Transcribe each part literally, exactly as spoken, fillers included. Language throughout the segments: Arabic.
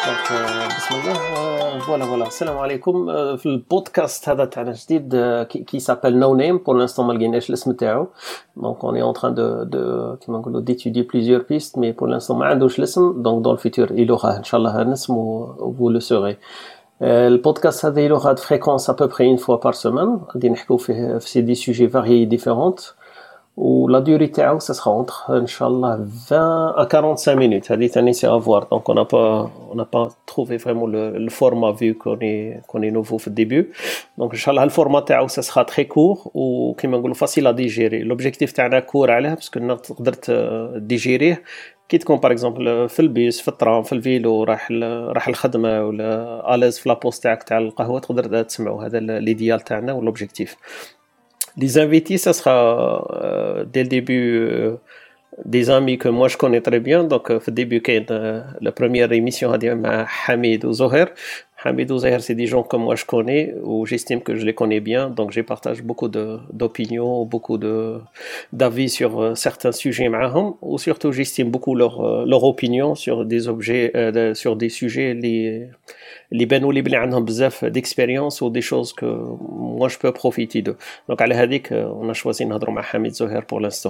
دونك بسم الله فوالا فوالا السلام عليكم. في البودكاست هذا تاعنا جديد كي سابيل نو نيم بور لانستون ما لقيناش الاسم تاعو. دونك اوني اون تران دو دو كيما نقولوا ديتودي بليزيور بيست مي بور لانستون ما عندوش الاسم. دونك دون الفيتور يلوغا ان شاء الله ان اسم و فو لو سوري. البودكاست هذا يلوغا د فريكونس ا بو بري اون فوا بار سيمين. غادي نحكيو فيه في سي دي سوجي فاريي ديفيرونت و لا durée تاعو ça sera entre ان شاء الله vingt à quarante-cinq minutes. هذه ثاني سي à voir. Donc on n'a pas on n'a pas trouvé vraiment le, le format vu qu'on est qu'on est nouveau في الديبيو. Donc ان شاء الله الفورما تاعو ça sera très court و كيما نقولوا facile à digérer. L'objectif تاعنا كور عليه باسكو تقدر ديجيريه كي تكون باغ اكزومبل في البيس في الترام في الفيلو راح راح الخدمه ولا اليز في لابوست تاعك تاع القهوه تقدر تسمعوا. هذا ليديال تاعنا والوبجيكتيف. Les invités, ça sera euh, dès le début euh, des amis que moi je connais très bien. Donc, au euh, début, quand euh, la première émission a dit Hamid ou Zoher. Hamid ou Zoher, c'est des gens que moi je connais ou j'estime que je les connais bien. Donc, je partage beaucoup de, d'opinions, beaucoup de, d'avis sur euh, certains sujets معهم. Ou surtout, j'estime beaucoup leur, euh, leur opinion sur des objets, euh, de, sur des sujets les اللي بانوا لي بلي عندهم بزاف ديكسبيريونس و دي شوز كو موا جو بو بروفيتي دو. دونك على هذيك انا شوازي نهضروا مع حميد زهير بور لانستو.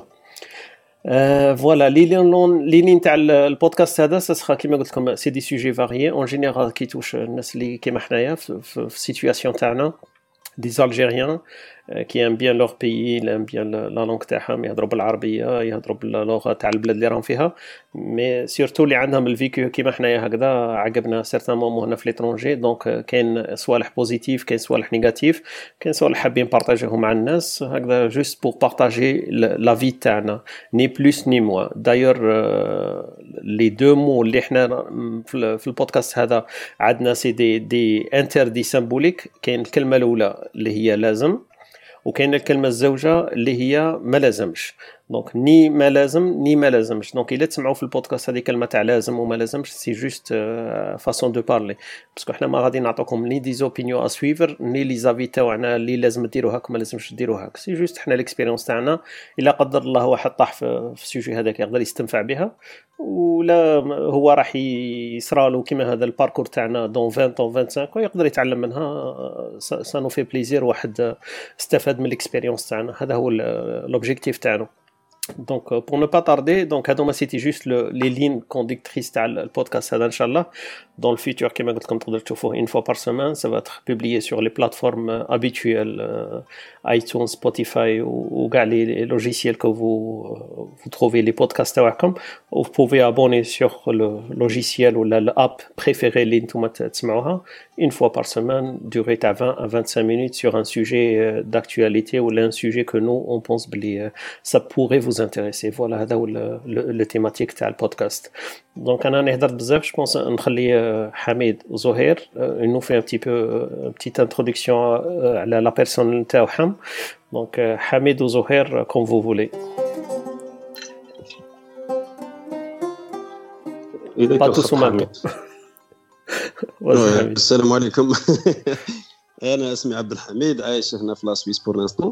فوالا لي لون لي لين تاع البودكاست هذا سا كيما قلت لكم سي دي سوجي فاريي اون جينيرال كي توش الناس اللي كيما حنايا في السيتوياسيون تاعنا des Algériens euh, qui aiment bien leur pays, ils aiment bien la, la langue تاعهم, يهضروا بالعربية, يهضروا باللغة تاع البلاد اللي راهم فيها, mais surtout اللي عندهم الفيكو كيما حنايا هكذا عقبنا certain moments هنا في l'étranger. donc كاين صوالح بوزيتيف, كاين صوالح نيجاتيف, كاين صوالح حابين بارطاجيهم مع الناس هكذا juste pour partager la vie تاعنا, ni plus ni moins. d'ailleurs euh, les deux mots اللي احنا في البودكاست هذا عندنا سي دي دي interdits symboliques. كاين الكلمة الأولى اللي هي لازم, وكاين الكلمه الزوجه اللي هي ما لازمش. دونك ني ما لازم ني ما لازمش. دونك الا تسمعوا في البودكاست هذه كلمه تاع لازم وما لازمش سي جوست فاسون دو بارلي, باسكو حنا ما غادي نعطوكم ني دي زوبينيون ا سويفر ني لي زافي تاعنا اللي لازم ديروا هاك ما لازمش ديروا هاك. سي جوست حنا ليكسبيريونس تاعنا. الا قدر الله واحد طاح في السوجي هذاك يقدر يستنفع بها, ولا هو راح يصرالو كيما هذا الباركور تاعنا دون عشرين او خمسة وعشرين ويقدر يتعلم منها. سا نو في بليزير واحد استفاد من الاكسبيريونس تاعنا. هذا هو لوبجيكتيف تاعنا. Donc euh, pour ne pas tarder, donc هذوما c'était juste le, les lignes conductrices تاع البودكاست هذا ان شاء الله. Dans le futur كما قلت لكم تقدروا تشوفوه une fois par semaine. Ça va être publié sur les plateformes habituelles, euh, iTunes, Spotify ou كاع les logiciels que vous vous trouvez les podcasts تاعكم. Vous pouvez abonner sur le logiciel ou l'app préférée اللي نتوما تسمعوها une fois par semaine, durée à vingt à vingt-cinq minutes sur un sujet d'actualité ou un sujet que nous on pense que ça pourrait vous intéresser. Voilà, هذا هو le thématique تاع البودكاست. Donc انا نهضر بزاف, je pense نخلي حميد وزهير il nous fait un petit peu une petite introduction على la personne تاعهم. Donc حميد وزهير comme vous voulez. pas tous en même temps. السلام عليكم. انا اسمي عبد الحميد, عايش هنا في لاسويس بور لانستون,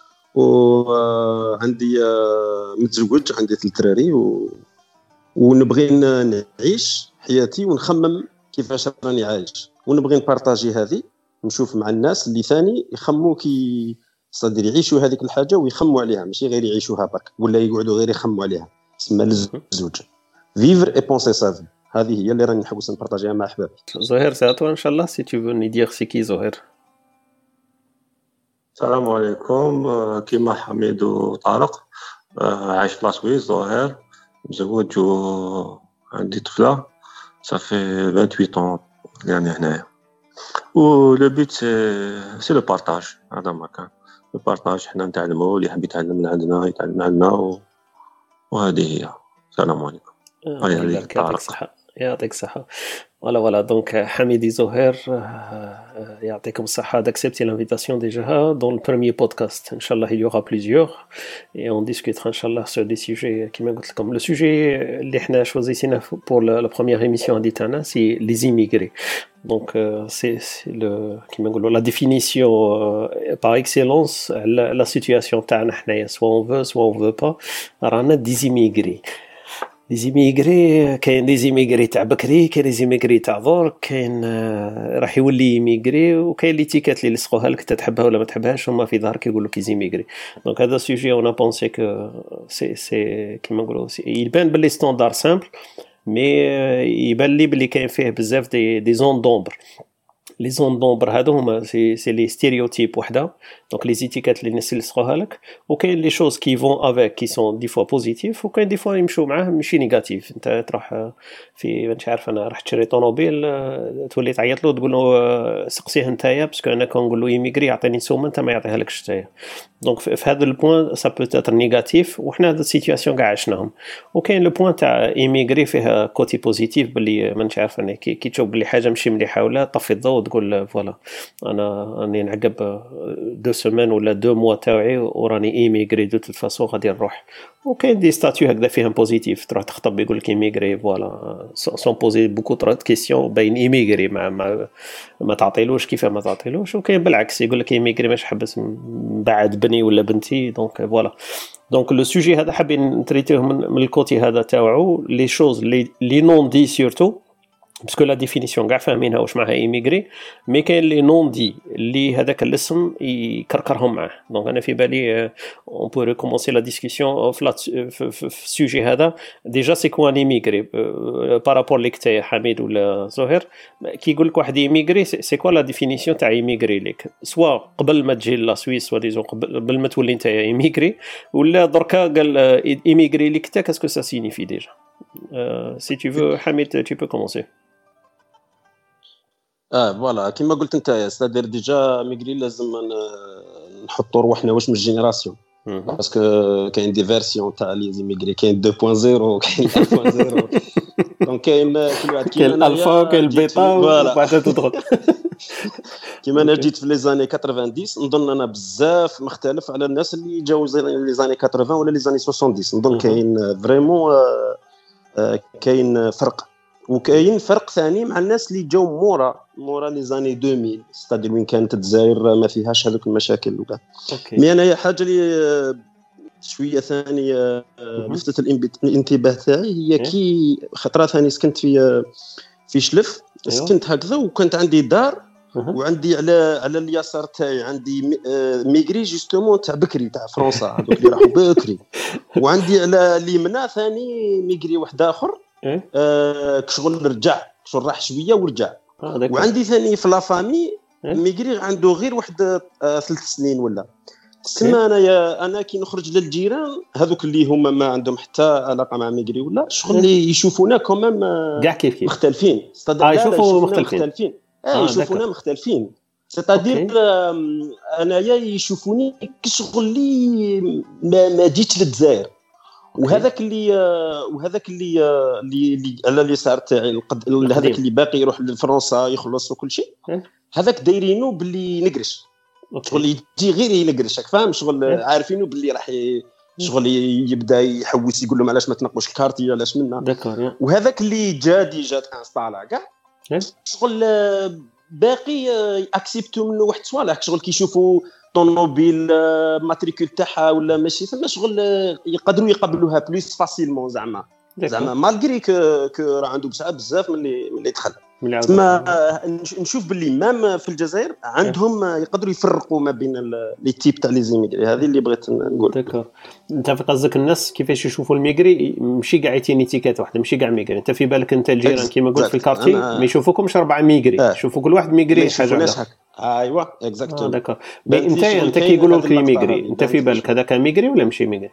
وعندي متزوج, عندي ثلاث دراري, و... ونبغي نعيش حياتي ونخمم كيفاش راني عايش, ونبغي نبارطاجي هذه, نشوف مع الناس اللي ثاني يخموا كي صدر يعيشوا هذيك الحاجه ويخموا عليها, ماشي غير يعيشوها برك ولا يقعدوا غير يخموا عليها. اسمها الزوج, vivre et penser sa vie. هذه هي اللي راني نحوس نبارطاجيها مع احبابي. زهير ساعتو ان شاء الله سي تو فوني دير سي كي زهير. السلام عليكم. كيما حميد وطارق, عايش في لاسويس. زهير مزوج وعندي طفله صافي ثمانية وعشرين يعني هنايا. و لو بيت سي سي لو بارطاج. هذا ما كان لو بارطاج, حنا نتعلموا, اللي يحب يتعلم من عندنا يتعلم عندنا, و... وهذه هي. السلام عليكم. يعطيك الصحة. يعطيك الصحة. Voilà, voilà. Donc, Hamid et Zoher, يعطيكم الصحة d'accepter l'invitation déjà dans le premier podcast. Inch'Allah, il y aura plusieurs. Et on discutera, Inch'Allah, sur des sujets qui m'ont comme le sujet, اللي احنا choisissina pour la, la première émission d'Itana, c'est les immigrés. Donc, euh, c'est, c'est le, qui m'ont la définition euh, par excellence, la, la situation تاعنا حنايا, soit on veut, soit on veut pas, رانا des immigrés. لي زيميغري كاين لي زيميغري تاع بكري، كاين لي زيميغري تاع درك، كاين آه، راح يولي يميغري، وكاين لي تيكات اللي يلصقوها لك تحبها ولا ما تحبهاش هما في ظهرك يقول لك يزيميغري. دونك هذا سوجي اون بونسي كو سي سي كيما نقولوا يبان باللي ستاندار سامبل، مي يبان لي بلي كاين فيه بزاف دي دي زون دومبر. لي زون دومبر هادو هما سي سي لي ستيريوتيب وحده، دونك لي زيتيكات اللي الناس يلصقوها لك، وكاين لي شوز كي فون افيك كي سون دي فوا بوزيتيف، وكاين دي فوا يمشوا معاه ماشي نيجاتيف. انت تروح في مش عارف انا راح تشري طوموبيل تولي تعيط له تقول له سقسيه نتايا باسكو انا كنقول له يميغري يعطيني سومه انت ما يعطيها لكش نتايا. دونك في هذا البوين سا بو تاتر نيجاتيف، وحنا هاد السيتوياسيون كاع عشناهم. وكاين لو بوين تاع ايميغري فيها كوتي بوزيتيف باللي ما نش عارف انا كي, كي تشوف باللي حاجه ماشي مليحه ولا طفي الضوء تقول فوالا انا راني نعقب دو سيمين ولا دو موا تاوعي وراني ايميغري دو توت فاسون غادي نروح. وكاين دي ستاتيو هكذا فيهم بوزيتيف، تروح تخطب يقول لك ايميغري فوالا سون بوزي بوكو ترو كيسيون باين ايميغري ما ما, ما تعطيلوش كيف ما تعطيلوش. وكاين بالعكس يقول لك ايميغري ماش حبس بعد بني ولا بنتي. دونك فوالا دونك لو سوجي هذا حابين نتريتيه من, من الكوتي هذا تاوعو لي شوز لي لي نون دي سورتو باسكو لا ديفينيسيون كاع فاهمينها واش معناها ايميغري، مي كاين لي نون دي اللي هذاك الاسم يكركرهم معاه. دونك انا في بالي اون بو ريكومونسي لا ديسكسيون في السوجي هذا. ديجا سي كوا ان ايميغري بارابور ليك تاع حميد ولا زهير، كي يقول لك واحد ايميغري سي كوا لا ديفينيسيون تاع ايميغري ليك، سوا قبل ما تجي لا سويس سوا ديزون قبل ما تولي انت ايميغري، ولا دركا قال ايميغري ليك تا كاسكو سا سينيفي ديجا. سي tu veux حميد tu peux commencer. اه فوالا كيما قلت انت ستادير ديجا ميغري لازم نحطوا روحنا واش من الجينيراسيون، باسكو كاين دي فيرسيون تاع لي زيميغري، كاين اثنين فاصلة صفر وكاين واحد فاصلة صفر. دونك كاين كل واحد كاين الالفا وكاين البيتا وبعد تدخل. كيما انا جيت في لي زاني تسعين نظن انا بزاف مختلف على الناس اللي جاو لي زاني ثمانين ولا لي زاني سبعين. نظن كاين فريمون كاين فرق، وكاين فرق ثاني مع الناس اللي جاو مورا مورا لي زاني ألفين ستادير وين كانت الجزائر ما فيهاش هذوك المشاكل وكاع. مي انا حاجه اللي شويه ثانيه لفتت الانتباه تاعي هي كي خطره ثاني سكنت في في شلف، سكنت هكذا وكانت عندي دار وعندي على على اليسار تاعي عندي ميغري جوستومون تاع بكري تاع فرنسا هذوك اللي راحوا بكري، وعندي على اليمنى ثاني ميغري واحد اخر آه كشغل رجع كشغل راح شويه ورجع. آه وعندي ثاني في لا فامي ميغري عنده غير واحد آه ثلاث سنين ولا تسمى. انا يا انا كي نخرج للجيران هذوك اللي هما ما عندهم حتى علاقه مع ميغري ولا شغل اللي يشوفونا كومام كاع كيف كيف مختلفين. اه يشوفوا مختلفين, مختلفين. اه يشوفونا مختلفين ستادير آه انايا يشوفوني كشغل لي ما, ما جيتش للجزائر. وهذاك اللي وهذاك اللي اللي على اليسار تاعي هذاك اللي باقي يروح لفرنسا يخلص وكل شيء، هذاك دايرينه باللي نقرش شغل يجي غير ينقرشك فاهم شغل عارفينه باللي راح شغل يبدا يحوس يقول لهم علاش ما تنقوش الكارتي علاش منا. وهذاك اللي جا ديجا انستالا كاع شغل باقي اكسبتو منه واحد صوالح شغل كيشوفوا طوموبيل ماتريكول تاعها ولا ماشي ثم شغل يقدروا يقبلوها بلوس فاسيلمون زعما زعما مالغري كو كو راه عنده بزاف بزاف من اللي من اللي دخل. ما نشوف باللي مام في الجزائر عندهم يقدروا يفرقوا ما بين لي تيب تاع لي زيميغري. هذه اللي بغيت نقول. داكور انت في قصدك الناس كيفاش يشوفوا الميغري ماشي كاع ايتينيتيكات واحده ماشي كاع ميغري. انت في بالك انت الجيران كيما قلت في الكارتي ما يشوفوكمش اربعه ميغري آه. يشوفوا كل واحد ميغري حاجه واحده. ايوا اكزاكتومون. داكور انت انت كيقولوا لك ميغري انت في بالك هذاك ميغري ولا ماشي ميغري؟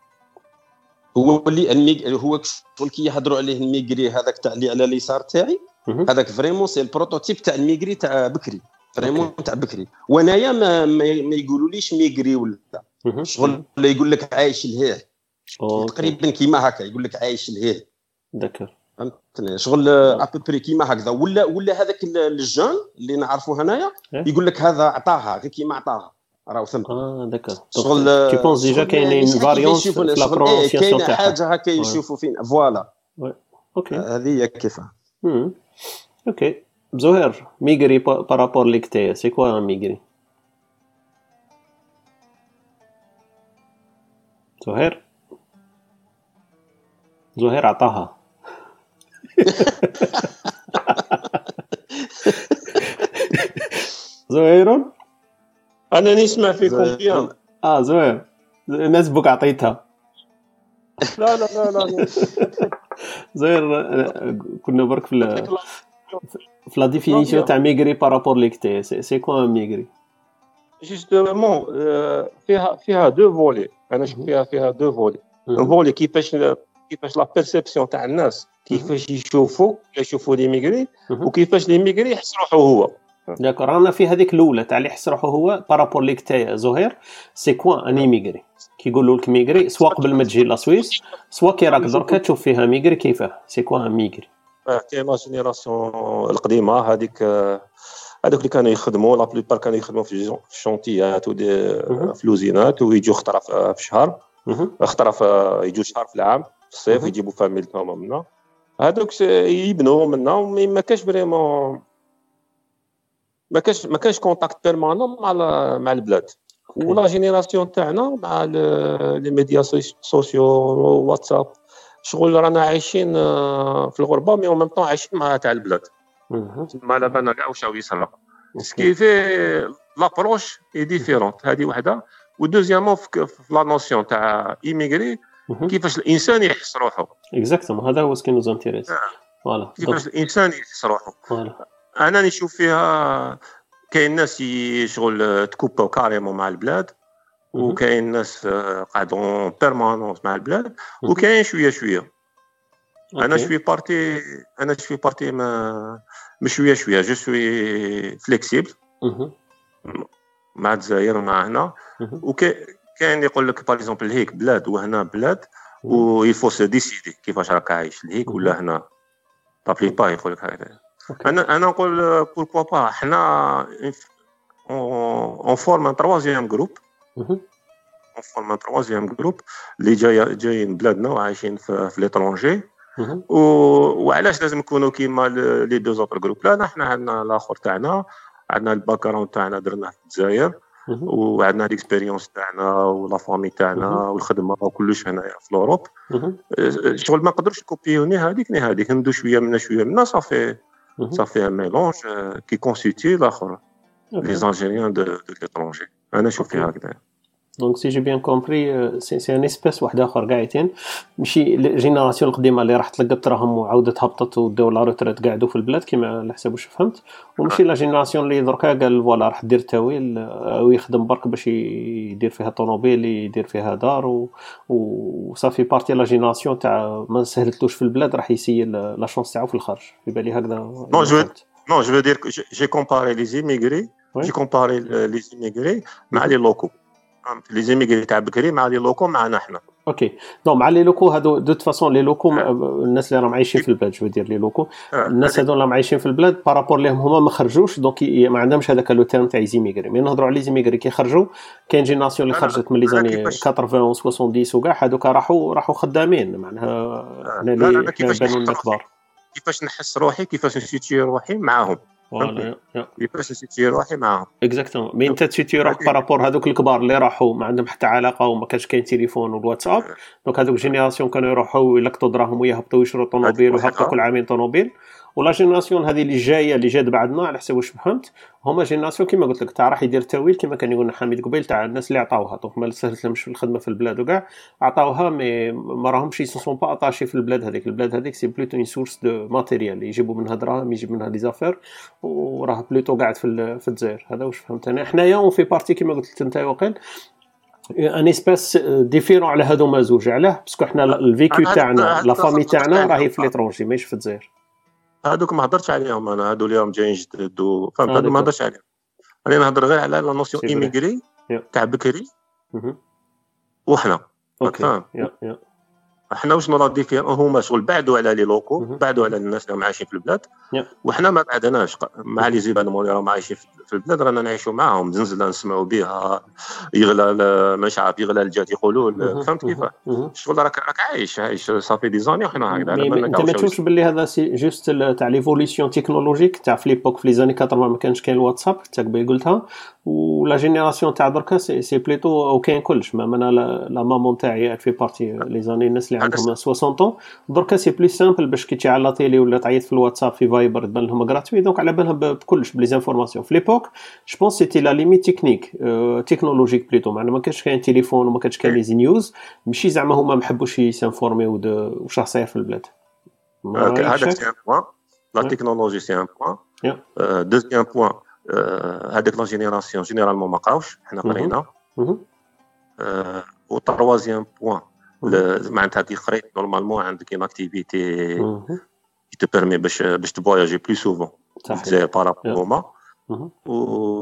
هو اللي الميغ هو شغل كي يحضروا عليه الميغري هذاك تاع اللي على اليسار تاعي هذاك فريمون سي البروتوتيب تاع الميغري تاع بكري فريمون تاع بكري. وانايا ما, ما يقولوليش ميغري ولا شغل اللي يقول لك عايش لهيه تقريبا كيما هكا يقول لك عايش لهيه. داكور فهمتني شغل ابوبري كيما هكذا. ولا ولا هذاك الجون اللي نعرفوه هنايا يقول لك هذا عطاها غير كيما عطاها راه ثم. اه داكور شغل تي بونس ديجا كاينين فاريونس في لا برونونسياسيون تاعها كاين حاجه هكا يشوفوا فين فوالا. اوكي هذه هي كيفاه. امم اوكي زهير ميغري بارابور ليك تايا سي كوا ميغري؟ زهير زهير عطاها. زهير انا نسمع فيكم بيان. اه زهير الناس بك عطيتها. لا لا لا لا زهير كنا برك في في لا ديفينيسيون تاع ميغري بارابور ليكتي. سي كوا ميغري؟ جوستومون فيها فيها دو فولي. انا شفت فيها فيها دو فولي. فولي كيفاش كيفاش لا بيرسيبسيون تاع الناس كيفاش يشوفوا يشوفوا لي ميغري وكيفاش لي ميغري يحس روحو هو. داكور رانا في هذيك الاولى تاع اللي يحس روحو هو بارابور ليك تاع زهير. سي كوا اني ميغري كيقولوا لك ميغري سواء قبل ما تجي لا سويس سواء كي راك دركا تشوف فيها ميغري كيفاه. سي كوا ميغري؟ كاين لا جينيراسيون القديمه هذيك هذوك اللي كانوا يخدموا لا بليبار كانوا يخدموا في الشونتيات ودي في لوزينات ويجوا خطره في الشهر خطره في يجوا شهر في العام في الصيف يجيبوا فاميلتهم منا هذوك يبنوا منا ما كاش فريمون ما كاش ما كاش كونتاكت بيرمانون مع مع البلاد. ولا جينيراسيون تاعنا مع لي ميديا سوسيو واتساب شغل رانا عايشين في الغربه مي اون ميم طون عايشين مع تاع البلاد. ما لا بالنا كاع واش يصرا سكيفي لابروش اي ديفيرونت. هذه وحده. ودوزيامون في لا نوسيون تاع ايميغري كيفاش الانسان يحس روحه. اكزاكتومون هذا هو سكي نوز انتيريس. فوالا كيفاش الانسان يحس روحه. انا نشوف فيها كاين ناس يشغل تكوباو كاريمون مع البلاد وكاين ناس قاعدون بيرمانونس مع البلاد وكاين شويه شويه. انا شوي بارتي انا شوي بارتي ما مش شويه شويه جو سوي فليكسيبل مع الجزائر ومع هنا. وكاين يقول لك باغ اكزومبل هيك بلاد وهنا بلاد ويفو سو ديسيدي كيفاش راك عايش لهيك ولا هنا طابلي با يقول لك هكذا. انا انا نقول بوركوا با حنا اون فورم ان تروازيام جروب اون فورم ان تروازيام جروب اللي جاي جايين بلادنا وعايشين في, في ليترونجي. وعلاش لازم نكونوا كيما لي دو زوتر جروب؟ لا حنا عندنا الاخر تاعنا عندنا الباك جراوند تاعنا درناه في الجزائر وعندنا ليكسبيريونس تاعنا ولا فامي تاعنا والخدمه وكلش هنايا في اوروب. شغل ما نقدرش نكوبيو ني هذيك ني هذيك ندو شويه منا شويه منا صافي صافي ان ميلونج كي كونستيتي الاخر لي زالجيريان دو دو ليترونجي. انا نشوف فيها هكذا. دونك سي جي بيان كومبري سي سي ان اسبيس واحد اخر قاعدين ماشي الجينيراسيون القديمه اللي راح تلقت راهم وعاودت هبطت وداو لا روتريت قاعدوا في البلاد كيما على حسب واش فهمت. وماشي لا جينيراسيون اللي دركا قال فوالا راح دير تاويل او يخدم برك باش يدير فيها طوموبيل يدير فيها دار وصافي بارتي لا جينيراسيون تاع ما سهلتلوش في البلاد راح يسيل لا شونس تاعو في الخارج. في بالي هكذا. نو جو نو جو دير جي كومباري لي زيميغري جي كومباري لي زيميغري مع لي لوكو. لي زيميغري تاع بكري مع لي لوكو معنا حنا. اوكي نو مع لي لوكو هادو دو فاصون لي لوكو الناس اللي راهم عايشين في البلاد جو دير لي لوكو الناس هادو اللي راهم عايشين في البلاد بارابور ليهم هما ما خرجوش دونك ما عندهمش هذاك لو تيرم تاع زيميغري. مي نهضروا على زيميغري كي خرجوا كاين جينيراسيون اللي خرجت من لي زاني ثمانين و سبعين وكاع هادوك راحوا راحوا خدامين معناها حنا اللي بانوا لنا كبار. كيفاش نحس روحي كيفاش نسيتي روحي معاهم فوالا يبقاش نسيتي روحي معاهم اكزاكتومون. مي انت تسيتي روحك بارابور هذوك الكبار اللي راحوا ما عندهم حتى علاقه وما كانش كاين تليفون والواتساب. دونك هذوك جينيراسيون كانوا يروحوا يلقطوا دراهم ويهبطوا يشروا طوموبيل ويهبطوا كل عامين طوموبيل. ولا جينيراسيون هذه اللي جايه اللي جات بعدنا على حسب واش فهمت هما جينيراسيون كيما قلت لك تاع راح يدير تاويل كيما كان يقولنا حميد قبيل تاع الناس اللي عطاوها. دونك ما سهلت لهمش في الخدمه في البلاد وكاع عطاوها مي ما راهمش يسون با اتاشي في البلاد هذيك. البلاد هذيك سي بلوتو اون سورس دو ماتيريال يجيبوا منها دراهم يجيب منها دي زافير وراه بلوتو قاعد في في الجزائر. هذا واش فهمت انا. حنايا اون في بارتي كيما قلت لك انت وقيل ان اسباس ديفيرون على هادو ما زوج. علاه باسكو حنا الفيكو تاعنا لا فامي تاعنا راهي في ليترونجي ماشي في الجزائر. هادوك ما هضرتش عليهم انا هادو اليوم جايين جدد فهمت هادو ما هضرش عليهم. انا نهضر غير على لا نوسيون ايميغري تاع بكري وحنا اوكي احنا واش نرا ديفير هما شغل بعدوا على لي لوكو بعدوا على الناس اللي عايشين في البلاد وحنا ما بعدناش مع لي زيبانمون اللي راهم عايشين في البلاد رانا نعيشوا معاهم، زنزله نسمعوا بها، يغلى مش عارف يغلى الجات يقولوا، فهمت كيف الشغل راك راك عايش عايش صافي دي زاني وحنا هكذا. انت ما تشوفش باللي هذا سي جوست تاع ليفوليسيون تكنولوجيك تاع في ليبوك في لي زاني ثمانين ما كانش كاين الواتساب حتى قبل قلتها، ولا جينيراسيون تاع دركا سي سي بليتو او كاين كلش. ما انا لا مامون تاعي في بارتي لي زاني الناس اللي عندهم ستين طون دركا سي بلي سامبل باش كي تشعل لا تيلي ولا تعيط في الواتساب في فايبر تبان لهم غراتوي، دونك على بالهم بكلش بلي زانفورماسيون. في ليبوك جو بونس سيتي لا ليميت تكنيك تكنولوجيك بليتو، معناها ما كانش كاين تليفون وما كانش كاين لي زي نيوز، ماشي زعما هما ما حبوش يسانفورميو واش راه صاير في البلاد. هذاك سي ان بوين لا تكنولوجي سي ان بوين. دوزيام بوين هذيك لا جينيراسيون جينيرالمون ما قراوش حنا قرينا. و تروازيام بوين معناتها كي قريت نورمالمون عندك اون اكتيفيتي كي te permet باش باش تفواياجي بلو سوفون زي بارابوما. و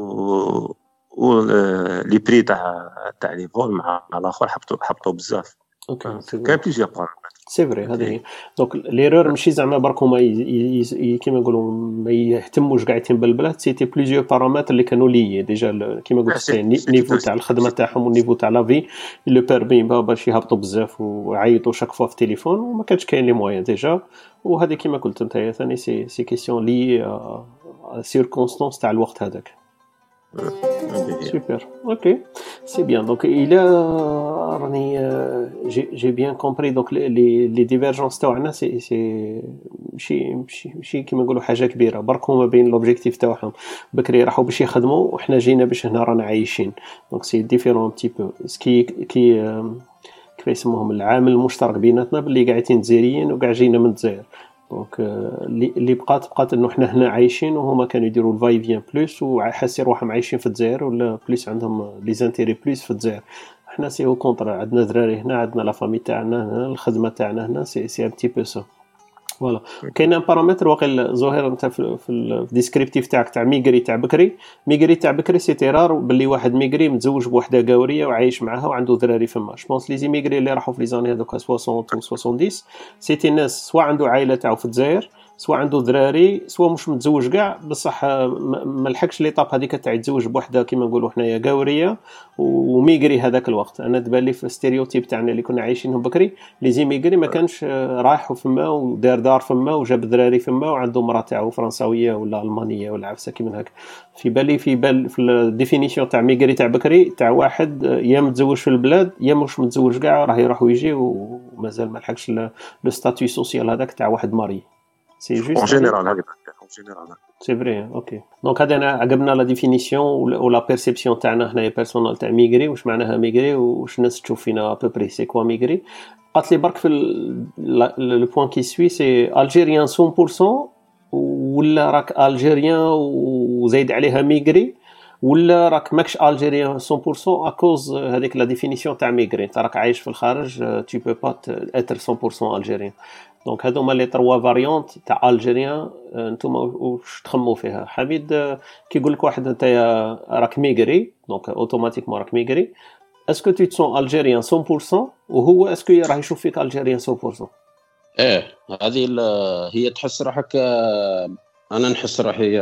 و لي بري تاع تاع لي فول مع الاخر حبطوا حبطوا بزاف. اوكي كاين بليزيور بارامتر سي فري هذه. دونك ليرور ماشي زعما برك هما كيما نقولوا ما يهتموش قاعدين بالبلاد، سيتي بليزيور بارامتر اللي كانوا لي ديجا كيما قلت النيفو تاع الخدمه تاعهم والنيفو تاع لافي لو بيرمي باش يهبطوا بزاف ويعيطوا شاك فوا في التليفون وما كانش كاين لي موين ديجا. وهذه كيما قلت انت ثاني سي سي كيسيون لي سيركونستانس تاع الوقت هذاك. Super, ok, c'est bien. Donc il a, j'ai j'ai bien compris. Donc les les les divergences تاعنا c'est c'est ماشي ماشي ماشي كيما نقولوا حاجه كبيره، برك هما بين لوبجيكتيف تاعهم بكري راحوا باش يخدموا وحنا جينا باش هنا رانا عايشين. دونك سي ديفيرون تي بو سكي كي كيف يسموهم العامل المشترك بيناتنا باللي قاعدين جزائريين وقاع جينا من الجزائر. دونك اللي بقات بقات انه حنا هنا عايشين وهما كانوا يديروا الفاي فيان بلوس وحاسين روحهم عايشين في الجزائر ولا بلوس عندهم لي زانتيري بلوس في الجزائر. حنا سي او كونتر، عندنا دراري هنا، عندنا لا فامي تاعنا هنا، الخدمه تاعنا هنا، سي سي ان تي بو سو فوالا. كاين بارامتر واقيلا زهير انت في في الديسكريبتيف تاعك تاع ميغري تاع بكري. ميغري تاع بكري سي تيرار باللي واحد ميغري متزوج بوحده قاوريه وعايش معها وعنده ذراري فما. جو بونس لي زي ميغري اللي راحوا في لي زاني هذوك ستين و سبعين سيتي ناس سواء عنده عائله تاعو في الجزائر، سواء عنده ذراري، سواء مش متزوج كاع بصح ما لحقش ليطاب هذيك تاع يتزوج بوحده كيما نقولوا حنايا قاوريه وميغري. هذاك الوقت انا دبال لي في الستيريوتيب تاعنا اللي كنا عايشينهم بكري لي زي ميغري ما كانش رايح فما ودار دار فما وجاب ذراري فما وعنده مراه تاعو فرنساويه ولا المانيه ولا عفسه كيما هكا. في بالي في بال في الديفينيسيون تاع ميغري تاع بكري تاع واحد يا متزوج في البلاد يا مش متزوج كاع راه يروح ويجي ومازال ما لحقش لو ستاتيو سوسيال هذاك تاع واحد ماري. سي جوست en général هكذا en général سي فري. اوكي دونك هذا انا عجبنا لا ديفينيسيون ولا بيرسيبسيون تاعنا هنايا بيرسونال تاع ميغري، واش معناها ميغري واش الناس تشوف فينا ابوبري سي كوا ميغري. قالت لي برك في لو بوين كي سوي سي الجيريان مية بالمية ولا راك الجيريان وزايد عليها ميغري ولا راك ماكش الجيريان مية بالمية اكوز هذيك لا ديفينيسيون تاع ميغري. انت راك عايش في الخارج tu peux pas être مية بالمية الجيريان. دونك هذوما لي تروا فاريونت تاع الجيريان نتوما واش تخمو فيها. حميد كي يقول لك واحد انت راك ميغري دونك اوتوماتيكمون راك ميغري، اسكو tu te sens الجيريان مية بالمية وهو اسكو راه يشوف فيك الجيريان مية بالمية؟ ايه هذه هي تحس روحك. انا نحس روحي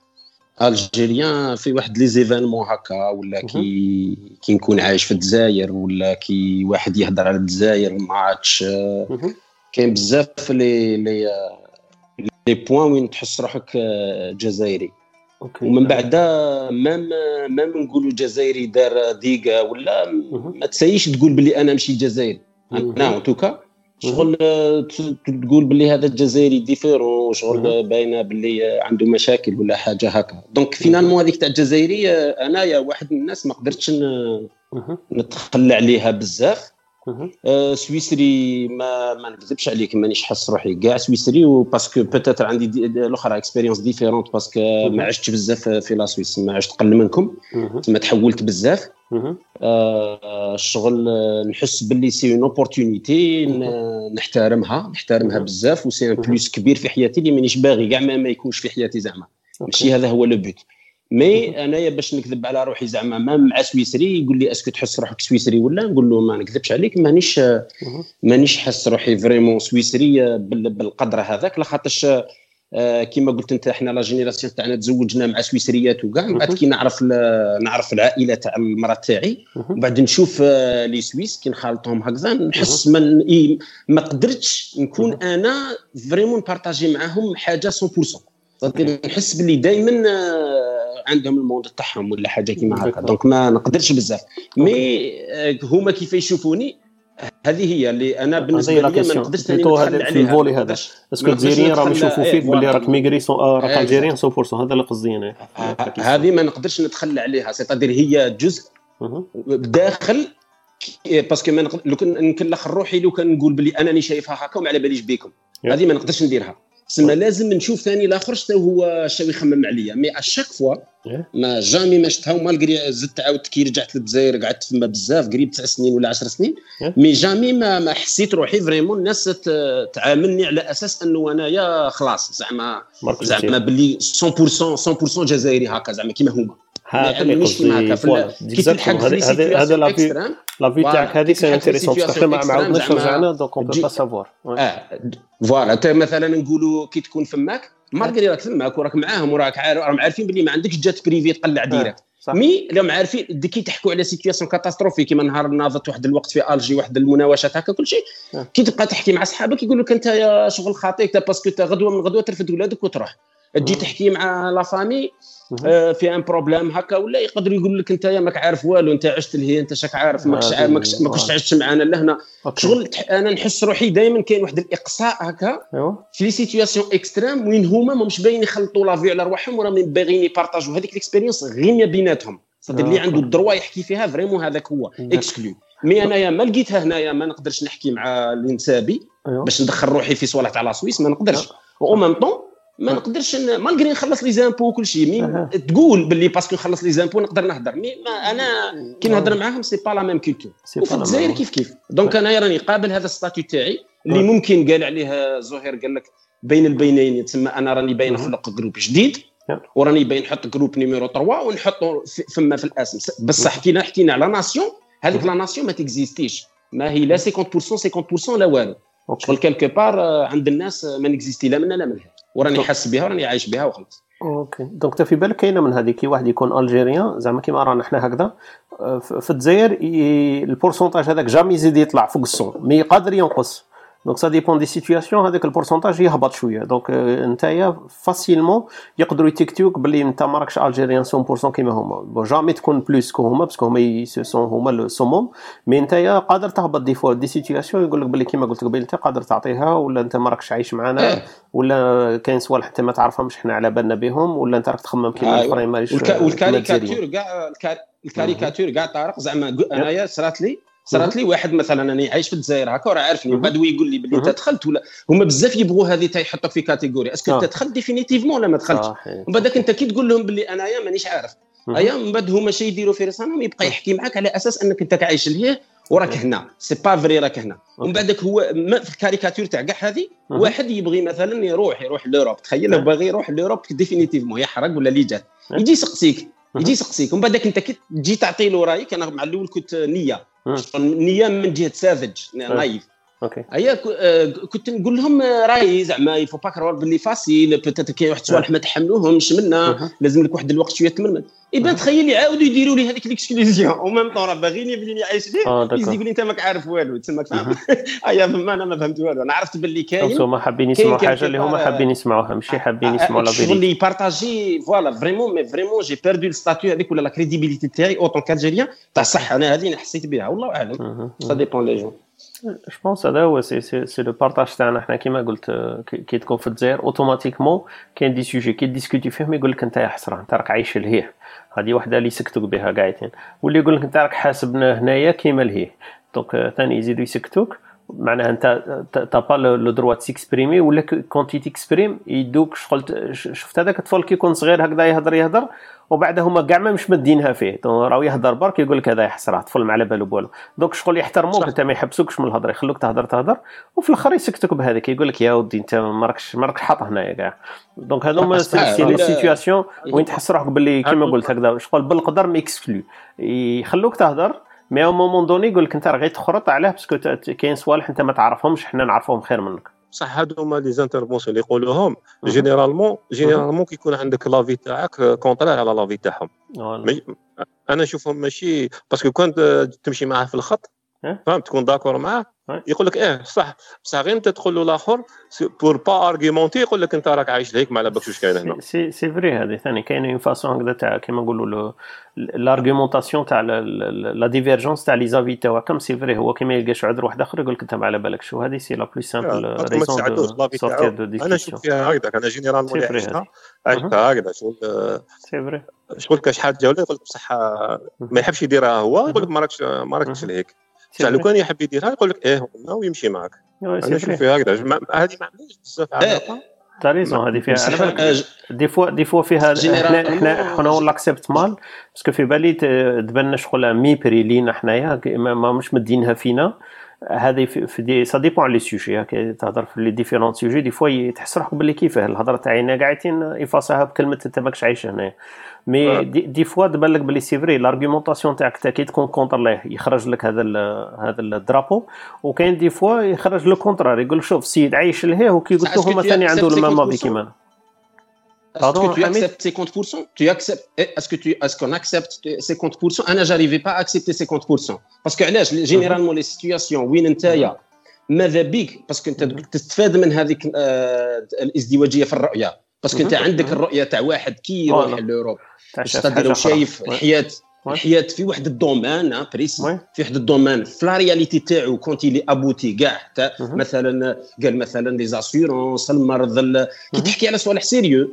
الجيريان في واحد لي زيفينمون هكا ولا كي كي نكون عايش في الجزائر ولا كي واحد يهضر على الجزائر ماتش. كاين بزاف لي لي لي بوين وين تحس روحك جزائري. ومن بعد مام مام نقولوا جزائري دار ديقه ولا ما تسايش تقول بلي انا ماشي جزائري. انا توكا شغل تقول بلي هذا الجزائري ديفيرون، شغل باينه بلي عنده مشاكل ولا حاجه هكا. دونك فينالمون هذيك تاع الجزائري انايا واحد من الناس ما قدرتش نتخلى عليها بزاف. أه سويسري ما ما نكذبش عليك مانيش حس روحي كاع سويسري، وباسكو بوتيتر عندي الاخرى اكسبيريونس ديفيرونت باسكو ما عشتش بزاف في لا سويس، ما عشت قل منكم ما تحولت بزاف. أه الشغل نحس باللي سي اون اوبورتونيتي نحترمها نحترمها بزاف وسي ان بلوس كبير في حياتي اللي مانيش باغي كاع ما يكونش في حياتي زعما. ماشي هذا هو لو بوت. مي انايا باش نكذب على روحي زعما ما مع سويسري يقول لي اسكو تحس روحك سويسري ولا نقول له ما نكذبش عليك مانيش مانيش حس روحي فريمون سويسري بالقدر هذاك، لخاطرش آه كما قلت انت احنا لا جينيراسيون تاعنا تزوجنا مع سويسريات وكاع، من بعد كي نعرف نعرف العائله تاع المراه تاعي ومن بعد نشوف آه لي سويس كي نخالطهم هكذا نحس من إيه ما قدرتش نكون انا فريمون بارطاجي معاهم حاجه مية بالمية، نحس باللي دائما آه عندهم الموند تاعهم ولا حاجه كيما هكا، دونك ما نقدرش بزاف. مي آه هما كيف يشوفوني هذه هي اللي انا بالنسبه لي ما نقدرش ثاني نتخلى عليها في الفولي هذا. اسكو الجزائريين راهم يشوفوا فيك باللي راك ميغري راك الجيريان مية بالمية، هذا اللي قصدي انا. هذه ما نقدرش نتخلى عليها، سيتادير هي جزء داخل باسكو ما لو كان نكلخ روحي لو كان نقول باللي انني شايفها هكا وما على باليش بكم، هذه ما نقدرش نديرها. سما لازم نشوف ثاني الاخر حتى هو شاو يخمم عليا، مي اشاك فوا ما جامي ما شفتها مالغري زدت عاودت كي رجعت للجزائر قعدت فما بزاف قريب تسع سنين ولا عشر سنين، مي جامي ما, ما حسيت روحي فريمون الناس تعاملني على اساس انه انايا خلاص زعما زعما باللي مية بالمية مية بالمية جزائري هكا زعما كيما هما. هذا اللي قصدي كي تلحق هذا هذا لا لا في تاعك هذه سي انتريسون باسكو ما عاودناش رجعنا دونك اون بو با سافوار. اه فوالا انت مثلا نقولوا كي تكون فماك مالغري راك فماك وراك معاهم وراك راهم عارفين باللي ما عندكش جات بريفي تقلع ديريكت، مي راهم عارفين كي تحكوا على سيتوياسيون كاتاستروفي كيما نهار ناضت واحد الوقت في الجي واحد المناوشات هكا كل شيء، كي تبقى تحكي مع اصحابك يقول لك انت يا شغل خاطيك باسكو انت غدوه من غدوه ترفد ولادك وتروح تجي تحكي مع لا فامي آه في ان بروبليم هكا ولا يقدر يقول لك انت يا ماك عارف والو انت عشت لهي انت شاك عارف ماكش عارف ما كنتش عشت معنا لهنا شغل. انا نحس روحي دائما كاين واحد الاقصاء هكا في لي سيتوياسيون اكستريم وين هما مش باين يخلطوا لافي على رواحهم ولا باغيين يبارطاجوا هذيك الاكسبيريونس غير بيناتهم، صدق اللي عنده الدروا يحكي فيها فريمون هذاك هو اكسكلو. مي انايا ما لقيتها هنايا ما نقدرش نحكي مع الانسابي باش ندخل روحي في صوالح تاع لا سويس ما نقدرش، او ميم طون ما نقدرش مالغري نخلص لي زامبو وكل شيء مي أه. تقول باللي باسكو نخلص لي زامبو نقدر نهضر، مي ما انا كي نهضر معاهم سي با لا ميم كولتور وفي الجزائر كيف كيف. دونك انا راني قابل هذا الستاتيو تاعي اللي ممكن قال عليه زهير قال لك بين البينين يتسمى انا راني باين نخلق جروب جديد وراني باين نحط جروب نيميرو ثلاثة ونحطه فما في الاسم، بصح حكينا حكينا على ناسيون هذيك لا ناسيون ما تكزيستيش، ما هي لا خمسين بالمية خمسين بالمية لا والو شغل كالكو بار عند الناس ما نكزيستي لا منا لا منها وراني حاس بها وراني عايش بها وخلاص. اوكي دونك تا في بالك كاينه من هذه كي واحد يكون الجيريان زعما كيما رانا حنا هكذا في الجزائر البورسونتاج هذاك جامي يزيد يطلع فوق الصون مي قادر ينقص، دونك سا ديبون دي سيتوياسيون هذاك البورسونتاج يهبط شويه، دونك نتايا فاسيلمون يقدروا يتيكتوك باللي انت ما راكش الجيريان مية بالمية كيما هما، بون جامي تكون بلوس كو هما باسكو هما سون هما السوموم، مي نتايا قادر تهبط دي فوا دي سيتوياسيون يقول لك باللي كيما قلت قبيل انت قادر تعطيها ولا انت ما راكش عايش معنا ولا كاين صوالح حتى ما تعرفهمش حنا على بالنا بهم ولا انت راك تخمم كيما الاخرين ماليش. والكاريكاتور كاع الكاريكاتور كاع طارق زعما انايا صرات لي صارت لي واحد مثلا انا عايش في الجزائر هكا وراه عارفني بعد يقول لي باللي انت دخلت ولا هما بزاف يبغوا هذه تا يحطوك في كاتيجوري اسكو انت دخلت ديفينيتيفمون ولا ما دخلتش، ومن بعدك انت كي تقول لهم باللي انايا مانيش عارف ايا من بعد هما شي يديروا في راسهم يبقى يحكي معك على اساس انك انت عايش لهيه وراك هنا سي با فري راك هنا، ومن بعدك هو في الكاريكاتور تاع كاع هذه واحد يبغي مثلا يروح يروح لوروب تخيل باغي يروح لوروب ديفينيتيفمون يحرق ولا اللي جات يجي يسقسيك يجي يسقسيك ومن بعدك انت كي تجي تعطي له رايك انا مع الاول كنت نيه نيه من جهه ساذج نايف اوكي ايا كنت نقول لهم راي زعما يفو با كرور باللي فاسيل بيتيت كاين واحد الصوالح ما تحملوهمش منا لازم لك واحد الوقت شويه تمرمد يبان تخيل يعاودوا يديروا لي هذيك ليكسكلوزيون ومام طون راه باغيني بلي عايش ليه يزيد لي انت ماك عارف والو تسمى فاهم ايا ما انا ما فهمت والو انا عرفت باللي كاين هما حابين يسمعوا حاجه اللي هما حابين يسمعوها ماشي حابين يسمعوا لا فيريتي اللي بارطاجي فوالا فريمون مي فريمون جي بيردو الستاتيو هذيك ولا لا كريديبيليتي تاعي اوتون كالجيريان تاع صح انا هذه حسيت بها والله اعلم سا ديبون لي جون جو بونس هذا هو سي سي سي لو بارطاج تاعنا حنا كيما قلت كي تكون في الجزائر اوتوماتيكمون كاين دي سوجي كي ديسكوتي فيهم يقول لك انت يا حسره انت راك عايش لهيه هذه وحده اللي يسكتوك بها قاعدين واللي يقول لك انت راك حاسبنا هنايا كيما لهيه دونك ثاني يزيدوا يسكتوك معناها انت تا با لو دروا تيكسبريمي ولا كونتي تيكسبريم يدوك شغل شفت هذاك الطفل كي يكون صغير هكذا يهضر يهضر وبعد هما كاع ما مش مدينها فيه راهو يهضر برك يقول لك هذا يحسره طفل ما على بالو بوالو دونك شغل يحترموك انت ما يحبسوكش من الهضره يخلوك تهضر تهضر وفي الاخر يسكتوك بهذاك يقول لك يا ودي انت ما راكش ما راكش حاط هنايا كاع دونك هذوما سي لي سيتوياسيون وين تحس روحك باللي كيما قلت هكذا شغل بالقدر ما اكسكلو يخلوك تهضر مي او مومون دوني يقول لك انت راه غير تخرط عليه باسكو كاين صوالح انت ما تعرفهمش حنا نعرفهم خير منك صح هادو هما لي زانترفونسيون اللي يقولوهم جينيرالمون جينيرالمون كيكون عندك لافي تاعك كونطرير على لافي تاعهم. انا نشوفهم ماشي باسكو كنت تمشي معاه في الخط فهمت تكون داكور معاه يقول لك ايه صح بصح غير انت تقول له الاخر بور با ارغيمونتي يقول لك انت راك عايش لهيك ما على بالكش واش كاين هنا. سي سي فري هذه ثاني كاينه اون فاسون هكذا تاع كيما نقولوا لارغيمونطاسيون تاع لا ديفيرجونس تاع لي زافي تاعو كم سي فري هو كيما يلقاش عذر واحد اخر يقول لك انت ما على بالك شو هذه سي لا بلو سامبل ريزون دو سورتير دو ديسكسيون. انا شوف فيها هكذا انا جينيرالمون عشتها عشتها هكذا شغل سي فري شغل كاش حاجه ولا يقول لك بصح ما يحبش يديرها هو يقول لك ما راكش ما راكش لهيك بصح لو كان يحب يديرها يقول لك ايه ويمشي معك. انا شوف فيها هكذا هذه ما عنديش بزاف علاقه تاريزون هذه فيها على بالك دي فوا دي فوا فيها احنا احنا حنا ولا اكسبت مال باسكو في بالي تبان شغل ميبري لينا حنايا ما مش مدينها فينا هذه في دي سا ديبون على لي سوجي هكا تهضر في لي ديفيرونت سوجي دي فوا تحس روحك باللي كيفاه الهضره تاعنا قاعدين يفاصها بكلمه انت ماكش عايش هنا مي دي, دي فوا تبان لك باللي سي فري لارغيومونطاسيون تاعك تاكي تكون كونتر ليه يخرج لك هذا هذا الدرابو وكاين دي فوا يخرج لو كونترار يقول شوف السيد عايش لهيه وكي قلت له هما ثاني عنده الماما بي كيما Est-ce que tu acceptes cinquante pour cent? Tu acceptes? Est-ce que tu, est-ce qu'on accepte cinquante pour cent? أنا j'arrivais pas à accepter cinquante pour cent parce que علاش généralement les situations وين نتايا ماذا بيك باسكو انت تستفاد من هذيك الازدواجيه في الرؤيه باسكو انت عندك الرؤيه تاع واحد كي يروح لأوروب تقدر شايف الحياه الحياه في واحد الدومين بريسي في واحد الدومين في لا رياليتي تاعو كونت لي ابوتي كاع مثلا قال مثلا لي زاسيورونس المرض كي تحكي على صوالح سيريو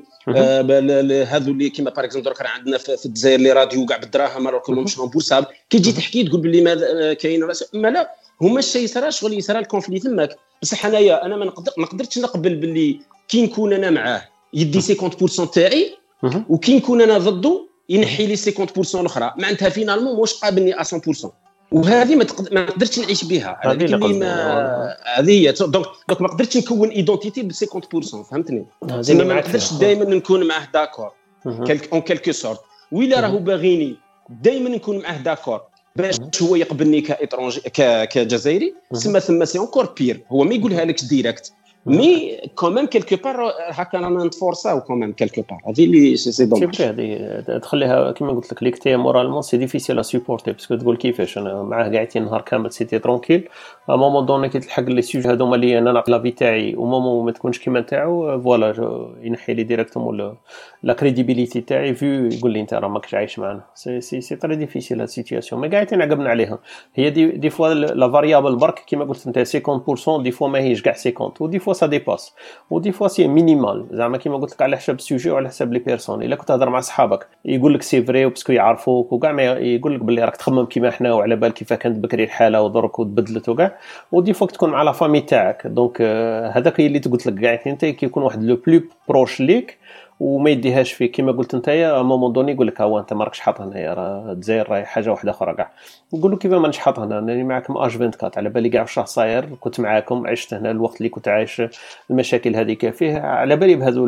هذو اللي كيما باغ اكزومبل درك عندنا في الجزائر لي راديو كاع بالدراهم راك مش امبوسابل كي تجي تحكي تقول باللي ما كاين ما لا هما الشيء يصرا شغل يصرا الكونفلي تماك بصح حنايا انا ما نقدر ما قدرتش نقبل باللي كي نكون انا معاه يدي cinquante pour cent تاعي وكي نكون انا ضده ينحي لي cinquante pour cent الاخرى معناتها فينالمون واش قابلني à cent pour cent وهذه ما تقدر ما قدرتش نعيش بها هذيك اللي ما هذه هي دونك دونك ما قدرتش نكون ايدونتيتي ب cinquante pour cent فهمتني زعما ما نقدرش دائما نكون معاه داكور اون كالكو سورت ولا راهو باغيني دائما نكون معاه داكور باش هو يقبلني كايترونجي كجزائري سما ثم سي اونكور بير هو ما يقولها لك ديريكت مي كوميم كيلكو بار هكا رانا نتفورساو كوميم كيلكو بار هذه اللي سي دوماج هذه تخليها كيما قلت لك ليك تي مورالمون سي ديفيسيل ا سوبورتي باسكو تقول كيفاش انا معاه قاعدين نهار كامل سيتي ترونكيل ا مومون دوني كي تلحق لي سوجي هذوما اللي انا نعطي لافي تاعي ومومون ما تكونش كيما تاعو فوالا ينحي لي ديريكتومون لا كريديبيليتي تاعي في يقول لي انت راه ماكش عايش معنا سي سي سي تري ديفيسيل هاد السيتوياسيون مي قاعدين عقبنا عليها هي دي دي فوا لا فاريابل برك كيما قلت انت cinquante pour cent دي فوا ماهيش كاع cinquante ودي فوا سا ديباس ودي فوا سي مينيمال زعما كيما قلت لك على حساب السوجي وعلى حساب لي بيرسون الا كنت تهضر مع صحابك يقول لك سي فري وباسكو يعرفوك وكاع ما يقول لك باللي راك تخمم كيما حنا وعلى بال كيف كانت بكري الحاله ودرك وتبدلت وكاع ودي فوا تكون مع لا فامي تاعك دونك هذاك اللي قلت لك كاع انت كيكون واحد لو بلو بروش ليك وما يديهاش فيه كيما قلت نتايا مومون دوني يقول لك ها انت ما راكش حاط هنايا راه الجزائر راهي حاجه واحده اخرى كاع نقول له كيف ما نش حاط هنا راني معكم اش أربعة وعشرين على بالي كاع واش راه صاير كنت معاكم عشت هنا الوقت اللي كنت عايش المشاكل هذيك فيه على بالي بهذو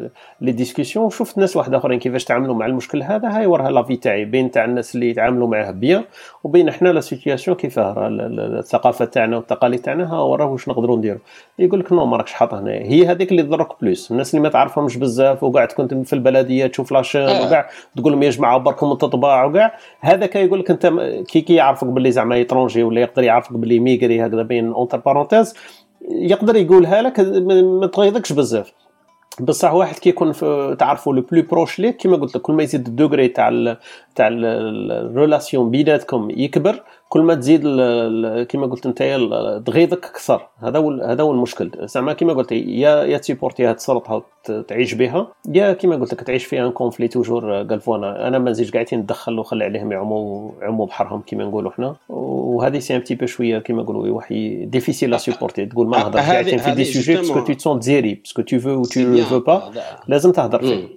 لي ديسكوسيون وشفت ناس واحد اخرين كيفاش تعاملوا مع المشكل هذا هاي وراها لافي تاعي بين تاع الناس اللي يتعاملوا معاه بيان وبين احنا لا سيتوياسيون كيفاه الثقافه تاعنا والتقاليد تاعنا ها وراه واش نقدروا نديروا يقول لك نو ما راكش حاط هنا هي هذيك اللي تضرك بلوس الناس اللي ما تعرفهمش بزاف وقاعد كنت في البلديه تشوف لاشين آه. وكاع تقول لهم يا جماعه بركم التطباع وكاع هذاك يقول لك انت كي كي يعرفك باللي زعما يترونجي ولا يقدر يعرفك باللي ميغري هكذا بين اونتر بارونتيز يقدر يقولها لك ما تغيظكش بزاف بصح واحد كيكون تعرفوا لو بلو بروش ليك كيما قلت لك كل ما يزيد الدوغري تاع تاع الريلاسيون بيناتكم يكبر كل ما تزيد كيما قلت نتايا تغيظك اكثر هذا هو هذا هو المشكل زعما كيما قلت يا يا تيبورتي هاد السلطه تعيش بها يا كيما قلت لك تعيش فيها ان كونفلي توجور قال فوانا انا ما نزيدش قاعدين ندخل وخلي عليهم يعوموا يعوموا بحرهم كيما نقولوا حنا وهذه سي ان بتي بو شويه كيما نقولوا واحد ديفيسيل لا سوبورتي تقول ما نهضرش قاعدين في دي سوجي باسكو تو تسون ديري باسكو تو فو و تو فو با لازم تهضر فيه